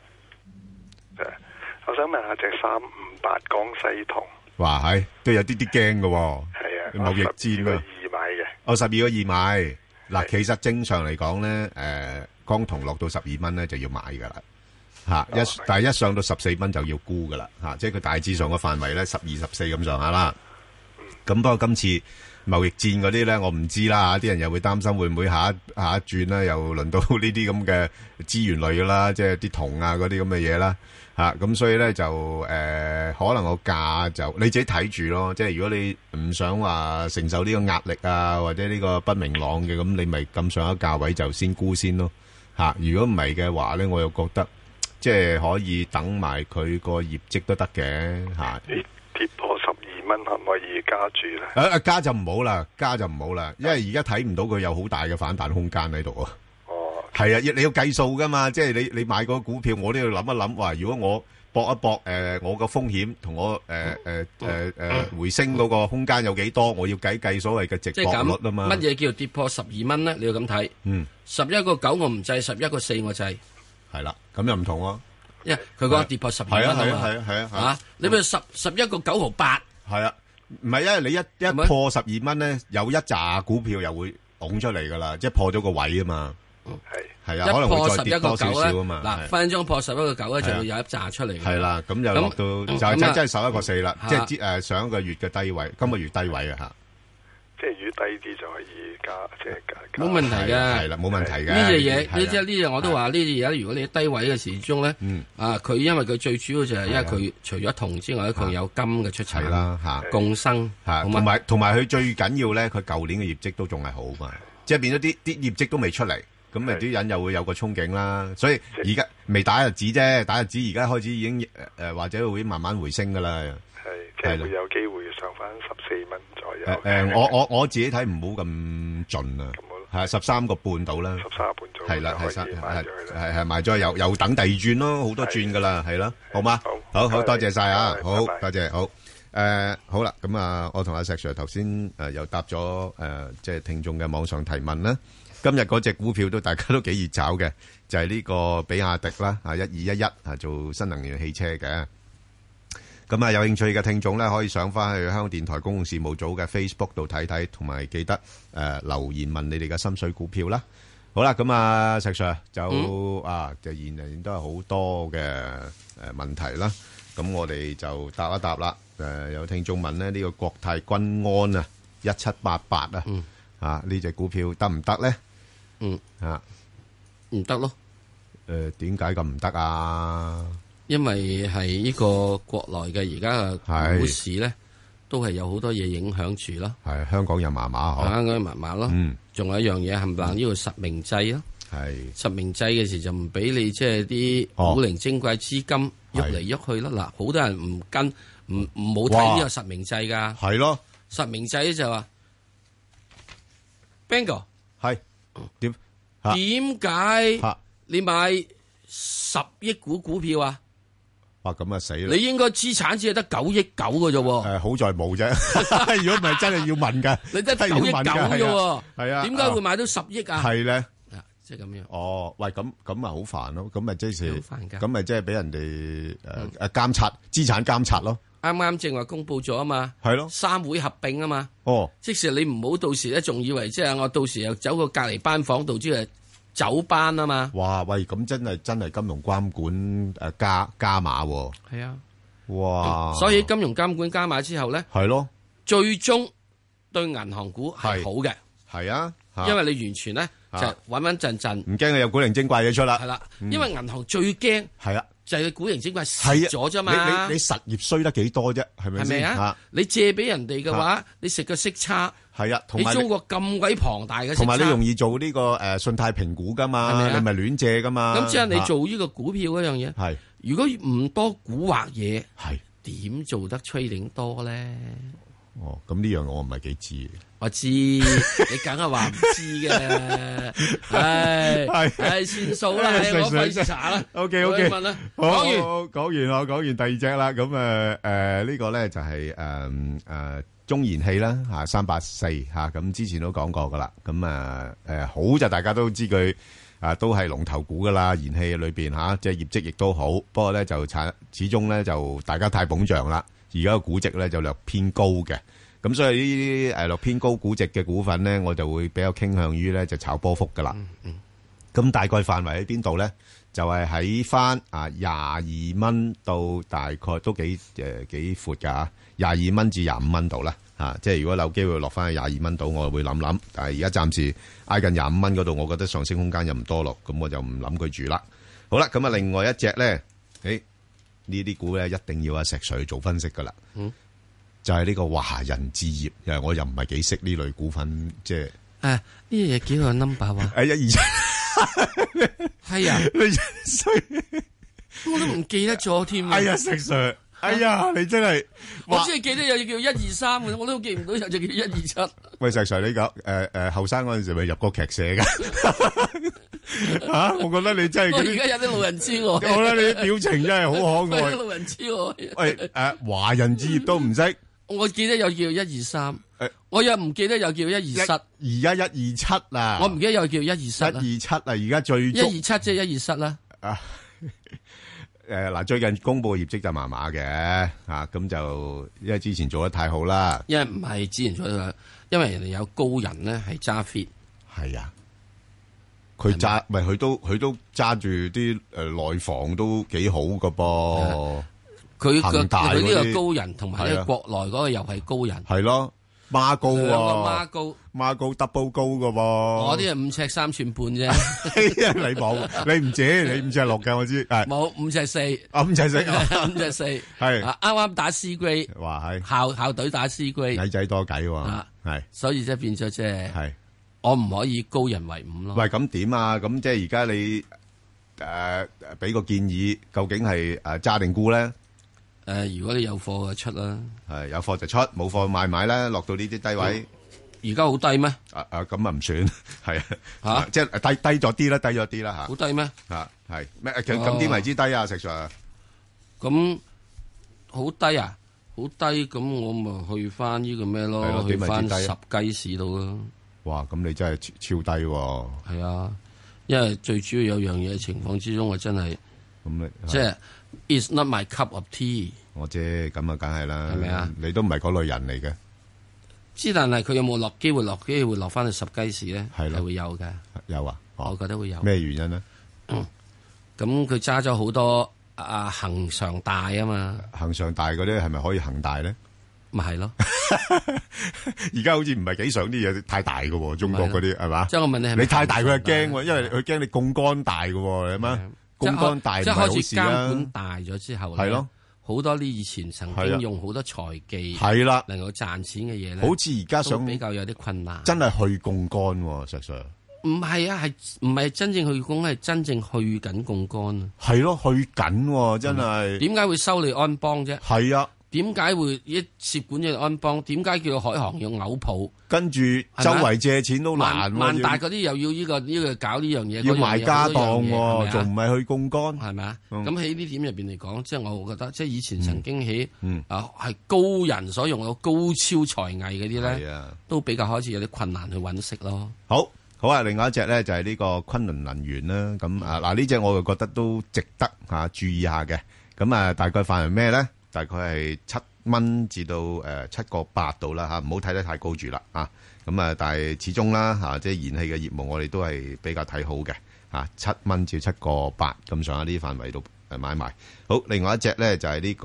我想問下隻358江西銅， 哇係都有啲驚嘅， 係啊， 貿易戰啊 ，12個2買嘅， 我12個2買。嗱，其實正常嚟講咧，江銅落到12蚊咧就要買噶啦，但係一上到14蚊就要沽噶啦，即係佢大致上嘅範圍咧12、14咁上下啦。咁不過今次貿易戰嗰啲咧，我唔知啦，啲人又會擔心會唔會下一轉咧，又輪到呢啲咁嘅資源類噶啦，即係啲銅啊嗰啲咁嘅嘢啦，咁所以咧就可能個價就你自己睇住咯，即係如果你唔想話承受呢個壓力啊，或者呢個不明朗嘅，咁你咪咁上一價位就先沽先咯，如果唔係嘅話咧，我又覺得即係可以等埋佢個業績都得嘅嚇。 跌破12蚊可唔可以加注咧？ 加就唔好啦，因為而家睇唔到佢有好大嘅反彈空間喺度啊。哦，係啊，你要計數噶嘛，即係你買個股票，我都要諗一諗，話如果我搏一搏，我個風險同我回升嗰個空間有幾多，我要計所謂嘅值博率啊嘛。 乜嘢叫跌破12蚊咧？你要咁睇。11個9我唔制，11個4我制。 係啦，咁又唔同喎。 因為佢講跌破12蚊啊嘛。係啊，你咪11個9毫8。 係啊，唔係，因為你一破12蚊咧，有一紮股票又會拱出嚟噶啦，即係破咗個位啊嘛。係啊，可能會再跌多少少啊嘛。 嗱，分鐘破11個9咧，就會有一紮出嚟。 係啦，咁又落到就真係11個4啦，即係上一個月嘅低位，今個月低位啊吓。 即係如果低啲就可以加，即係加。 冇問題嘅， 係啦，冇問題嘅。 呢隻嘢，呢隻我都話呢隻嘢，如果你喺低位嘅時鐘咧，佢因為佢最主要就係因為佢除咗銅之外咧，佢有金嘅出產啦，吓共生吓， 同埋佢最緊要咧，佢舊年嘅業績都仲係好嘛，即係變咗啲業績都未出嚟，咁咪啲人又會有個憧憬啦。所以而家未打日子啫，打日子而家開始已經或者會慢慢回升噶啦。 係，即係會有機會上翻14蚊左右。 我自己睇唔好咁盡啊，係13個半到啦 ，13個半左右， 係啦，係賣咗又等第二轉咯，好多轉噶啦，係啦，好嗎？好多謝晒啊，好多謝，好好啦，咁啊，我同阿石 Sir 頭先又答咗即係聽眾嘅網上提問啦。今日嗰隻股票大家都幾熱炒嘅，就係呢個比亞迪啦，1211做新能源汽車嘅。咁有興趣嘅聽眾咧，可以上翻去香港電台公共事務組嘅 Facebook 度睇睇，同埋記得留言問你哋嘅心水股票啦。好啦，咁石 Sir 就現人都係好多嘅問題啦。咁我哋就答一答啦。有聽眾問咧，呢個國泰君安啊，1788呢隻股票得唔得咧？ 唔得咯。 點解咁唔得啊？ 因為係呢個國內嘅而家嘅股市咧，都係有好多嘢影響住咯。 係香港又麻麻， 香港又麻麻咯。仲有一樣嘢，冚唪唥呢個實名制咯。 係實名制嘅時就唔俾你即係啲古靈精怪資金喐嚟喐去咯。嗱，好多人唔跟唔冇睇呢個實名制噶。 係咯， 實名制就話 Bingo 係點解你買10億股票啊？ 哇，咁啊死啦！ 你應該資產只係得9億9嘅啫。 好在冇啫。如果唔係真係要問噶， 你得9億9啫。 係啊， 點解會買到10億啊？ 係咧， 即係咁樣。 哦，喂，咁咪好煩咯。咁咪即係好煩㗎。 咁咪即係俾人哋監察資產監察咯。 啱啱正話公布咗啊嘛。 係咯。 3會合併啊嘛。 哦。即使你唔好到時咧，仲以為即係我到時又走個隔離班房度，即係走班啊嘛！ 哇喂，咁真係金融監管加碼喎。 係啊， 哇！ 所以金融監管加碼之後咧， 係咯， 最終對銀行股係好嘅。 係啊， 因為你完全咧就穩穩陣陣， 唔驚佢有古靈精怪嘢出啦。 係啦，因為銀行最驚係啊， 就係古靈精怪蝕咗啫嘛。 你實業衰得幾多啫？係咪先？ 係咪啊？你借俾人哋嘅話，你食個息差。 係啊， 你中國咁鬼龐大嘅息差， 同埋你容易做呢個信貸評估噶嘛，你咪亂借噶嘛。 咁即係你做呢個股票嗰樣嘢， 係如果唔多蠱惑嘢， 係點做得trading多咧？ 哦，咁呢樣我唔係幾知。 我知，你梗係話唔知嘅。唉，算數啦，我費事查啦。 OK， 問啦。 講完第二隻啦。咁呢個咧就係中燃氣啦嚇，384嚇。咁之前都講過噶啦。咁好就大家都知佢都係龍頭股噶啦，燃氣裏邊嚇，即係業績亦都好。不過咧就始終咧就大家太捧場啦。而家個估值咧就略偏高嘅。咁所以呢啲略偏高估值嘅股份咧，我就會比較傾向於咧就炒波幅噶啦。咁大概範圍喺邊度咧？就係喺翻22蚊到大概都幾闊噶，22蚊至25蚊度啦。即係如果有機會落翻去22蚊度，我會諗諗。但係而家暫時挨近25蚊嗰度，我覺得上升空間又唔多咯，咁我就唔諗佢住啦。好啦，咁另外一隻咧，呢啲股咧一定要石 Sir 做分析噶啦。就係呢個華人置業，我又唔係幾識呢類股份，即係呢嘢幾個 number 話 127 係啊，我都唔記得咗添。 哎呀，石 Sir，哎呀，你真係我只係記得有隻叫123嘅，我都記唔到有隻叫127。 喂，石 Sir，你講後生嗰陣時咪入過劇社噶我覺得你真係我而家有啲老人痴呆，我覺得你啲表情真係好可愛。 老人痴呆。 喂，華人置業都唔識。 我記得有叫123，我又唔記得有叫127， 而家127啦。 我唔記得有叫127 127啦，而家最 127即係127啦。 嗱，最近公布嘅業績就麻麻嘅咁就因為之前做得太好啦。 因為唔係之前做得，因為人哋有高人咧係揸 fit。係啊， 佢揸咪佢都揸住啲內房都幾好噶噃。 佢呢個高人同埋呢個國內嗰個又係高人， 係咯，孖高喎， 孖高 double 高噶噃。 我啲係5尺3寸半啫， 你冇，你唔止，你5尺6嘅我知， 冇5尺4， 5尺4， 5尺4，係啱啱打 C grade， 話係校隊打 C grade， 矮仔多計喎，係， 所以即係變咗即係，我唔可以高人為伍咯。 喂，咁點啊？咁即係而家你俾個建議，究竟係揸定沽咧？ 如果你有貨就出啦， 係有貨就出，冇貨買啦，落到呢啲低位。 而家好低咩？ 咁唔算，係即係低咗啲啦，低咗啲啦吓。 好低咩？ 係咩？咁點為之低啊？石 Sir？ 咁好低啊？好低咁，我咪去翻呢個咩咯？去翻10雞市度咯。哇！ 咁你真係超低喎。 係啊，因為最主要有樣嘢情況之中，我真係咁即係。It's not my cup of tea。 我知，咁啊，梗係啦。 係咪啊？ 你都唔係嗰類人嚟嘅。 之但係佢有冇機會落翻去10雞市咧？係會有嘅。 有啊， 我覺得會有。 咩原因呢？ 咁佢揸咗好多恒常大啊嘛。 恒常大嗰啲係咪可以恒大咧？ 咪係咯。 而家好似唔係幾想啲嘢太大嘅喎，中國嗰啲係嘛？ 即係我問你係咪？ 你太大佢就驚喎，因為佢驚你槓桿大嘅喎，係嘛？槓桿大唔係好事啦。即係開始監管大咗之後咧，係咯，好多啲以前曾經用好多財技係啦，能夠賺錢嘅嘢咧，好似而家想比較有啲困難。 真係去槓桿喎，實上唔係啊，係唔係真正去槓，係真正去緊槓桿啊？ 係咯，去緊真係。點解會收你安邦啫？ 係啊。 點解會一涉管嘅安邦？點解叫海航要嘔泡？ 跟住周圍借錢都難。 萬大嗰啲又要呢個搞呢樣嘢， 要賣家當喎，仲唔係去槓桿？ 係咪啊？咁喺呢點入邊嚟講，即係我覺得，即係以前曾經喺係高人所用嘅高超才藝嗰啲咧，都比較開始有啲困難去揾食咯。 好啊！另外一隻咧就係呢個昆侖能源啦。咁嗱呢隻我就覺得都值得注意下嘅。咁大概範圍咩咧？大概係7蚊至到7個8度啦嚇，唔好睇得太高住啦嚇。咁但係始終啦嚇，即係燃氣嘅業務我哋都係比較睇好嘅嚇。7蚊至7個8咁上下呢啲範圍度買賣。好，另外一隻咧就係呢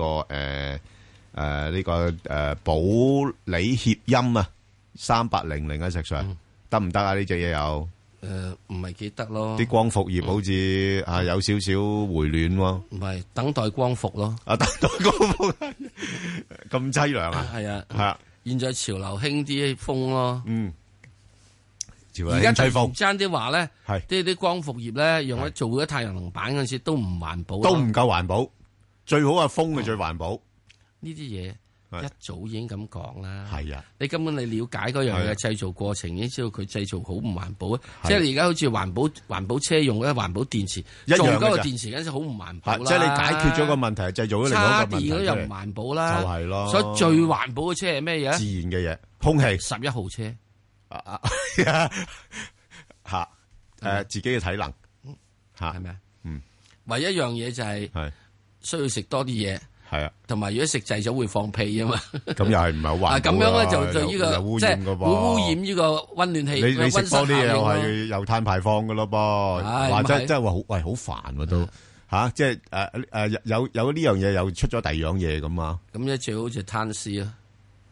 個保利協鑫啊，3800啊，石 Sir得唔得啊？呢隻嘢有？ 唔係幾得咯， 啲光伏業好似有少少回暖喎。 唔係等待光伏咯， 等待光伏咁淒涼啊！ 係啊，現在潮流興啲風咯， 潮流興吹風。 爭啲話咧，啲光伏業咧用咗做咗太陽能板嗰陣時都唔環保， 都唔夠環保，最好係風嘅最環保。 呢啲嘢一早已經咁講啦。 係啊， 你根本你了解嗰樣嘢製造過程，已經知道佢製造好唔環保啊。即係你而家好似環保車用嗰啲環保電池，做嗰個電池嗰陣時好唔環保啦。 即係你解決咗個問題，製造咗另外一個問題。 叉電嗰啲又唔環保啦。 就係咯。 所以最環保嘅車係咩嘢？ 自然嘅嘢，空氣。 11號車。 吓，自己嘅體能。 係咪啊？唯一一樣嘢就係需要食多啲嘢。 係啊，同埋如果食滯咗會放屁啊嘛， 咁又係唔係好環保啊？ 咁樣咧就呢個即係會污染呢個溫暖氣。 你食多啲嘢又係有碳排放噶咯噃，或者真係話好煩喎都吓，即係有呢樣嘢又出咗第二樣嘢咁啊？ 咁咧最好就攤屍啊！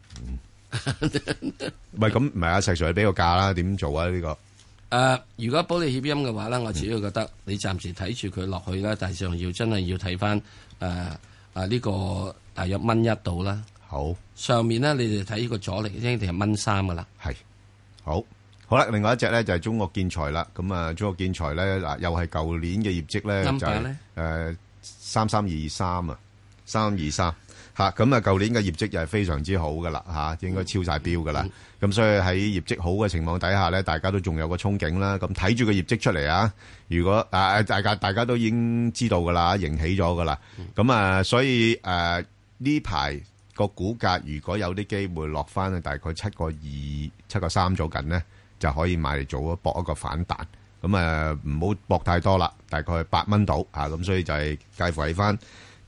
唔係咁唔係阿石 Sir 俾個價啦，點做啊？呢個如果保利協鑫嘅話咧，我自己覺得你暫時睇住佢落去啦，但係上要真係要睇翻呢個大約蚊1度啦。 好， 上面咧你哋睇呢個阻力一定係蚊3噶啦。 係，好啦。另外一隻咧就係中國建材啦。咁啊，中國建材咧嗱，又係舊年嘅業績咧就係3323啊，323吓。咁啊，舊年嘅業績又係非常之好噶啦吓，應該超晒標噶啦。咁所以喺業績好嘅情況底下咧，大家都仲有個憧憬啦。咁睇住個業績出嚟啊！如果大家都已經知道噶啦，迎起咗噶啦。咁所以呢排個股價如果有啲機會落翻去大概7.2、7.3左近咧，就可以買嚟做搏一個反彈。咁唔好搏太多啦，大概8蚊到啊。咁所以就係介乎喺翻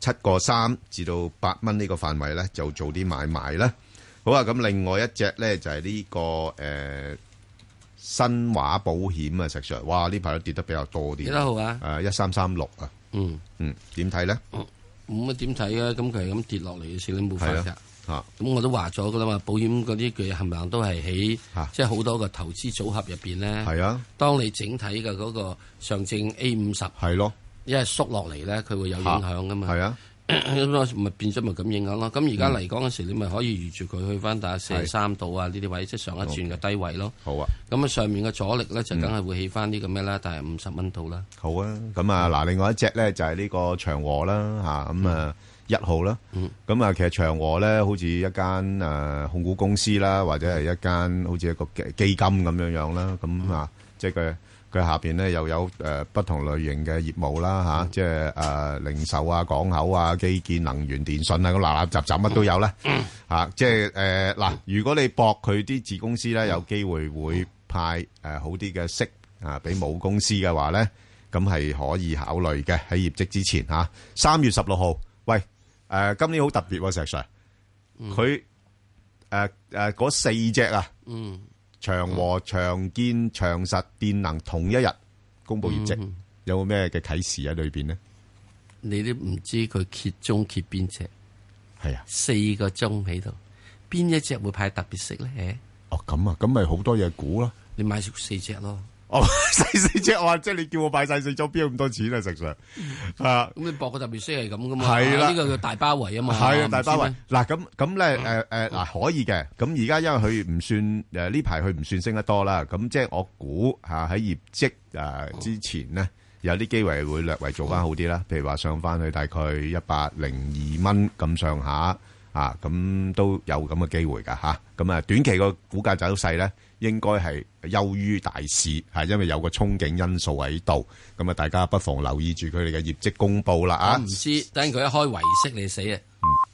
7.3至到8蚊呢個範圍咧，就做啲買賣啦。好啊，咁另外一隻咧就係呢個新華保險啊，石 Sir， 哇呢排都跌得比較多啲。 幾多號啊 ？1336啊。點睇咧？ 咁啊點睇啊？咁佢係咁跌落嚟嘅時，你冇法㗎。咁我都話咗噶啦嘛，保險嗰啲佢冚唪唥都係喺即係好多個投資組合入邊咧。係啊。當你整體嘅嗰個上證 A50 係咯，因為縮落嚟咧，佢會有影響噶嘛。係啊。咁咪變咗咪咁影響咯？咁而家嚟講嗰時，你咪可以預住佢去翻大43度啊！呢啲位即係上一轉嘅低位咯。好啊！咁啊上面嘅阻力咧就梗係會起翻啲咁咩啦，但係50蚊度啦。好啊！咁嗱，另外一隻咧就係呢個長和啦咁1號啦。咁其實長和咧好似一間控股公司啦，或者係一間好似一個基金咁樣啦。咁即係佢下邊咧又有不同類型嘅業務啦即係零售啊、港口啊、基建、能源、電信啊，咁垃垃雜雜乜都有啦即係嗱，如果你博佢啲子公司咧有機會會派好啲嘅息俾母公司嘅話咧，咁係可以考慮嘅喺業績之前3月16號，喂今年好特別喎，石 Sir，佢嗰4隻長和、長建、長實、電能同一日公布業績，有冇咩嘅啟示喺裏邊呢？你都唔知佢揭中揭邊隻？係啊，4個鐘喺度，邊一隻會派特別息咧？哦，咁咪好多嘢估咯。你買4隻咯。哦，4隻話，即係你叫我買晒4隻，邊有咁多錢啊？實上咁你博個特別息係咁噶嘛？係啦，呢個叫大包圍啊嘛。係啊，大包圍。嗱咁咧可以嘅。咁而家因為佢唔算呢排佢唔算升得多啦。咁即係我估喺業績之前呢，有啲機會會略為做翻好啲啦。譬如話上翻去大概102蚊咁上下咁都有咁嘅機會㗎咁短期個股價走勢咧，應該係優於大市，因為有個憧憬因素喺度。咁大家不妨留意住佢哋嘅業績公佈啦。唔知等佢一開圍息你死啊！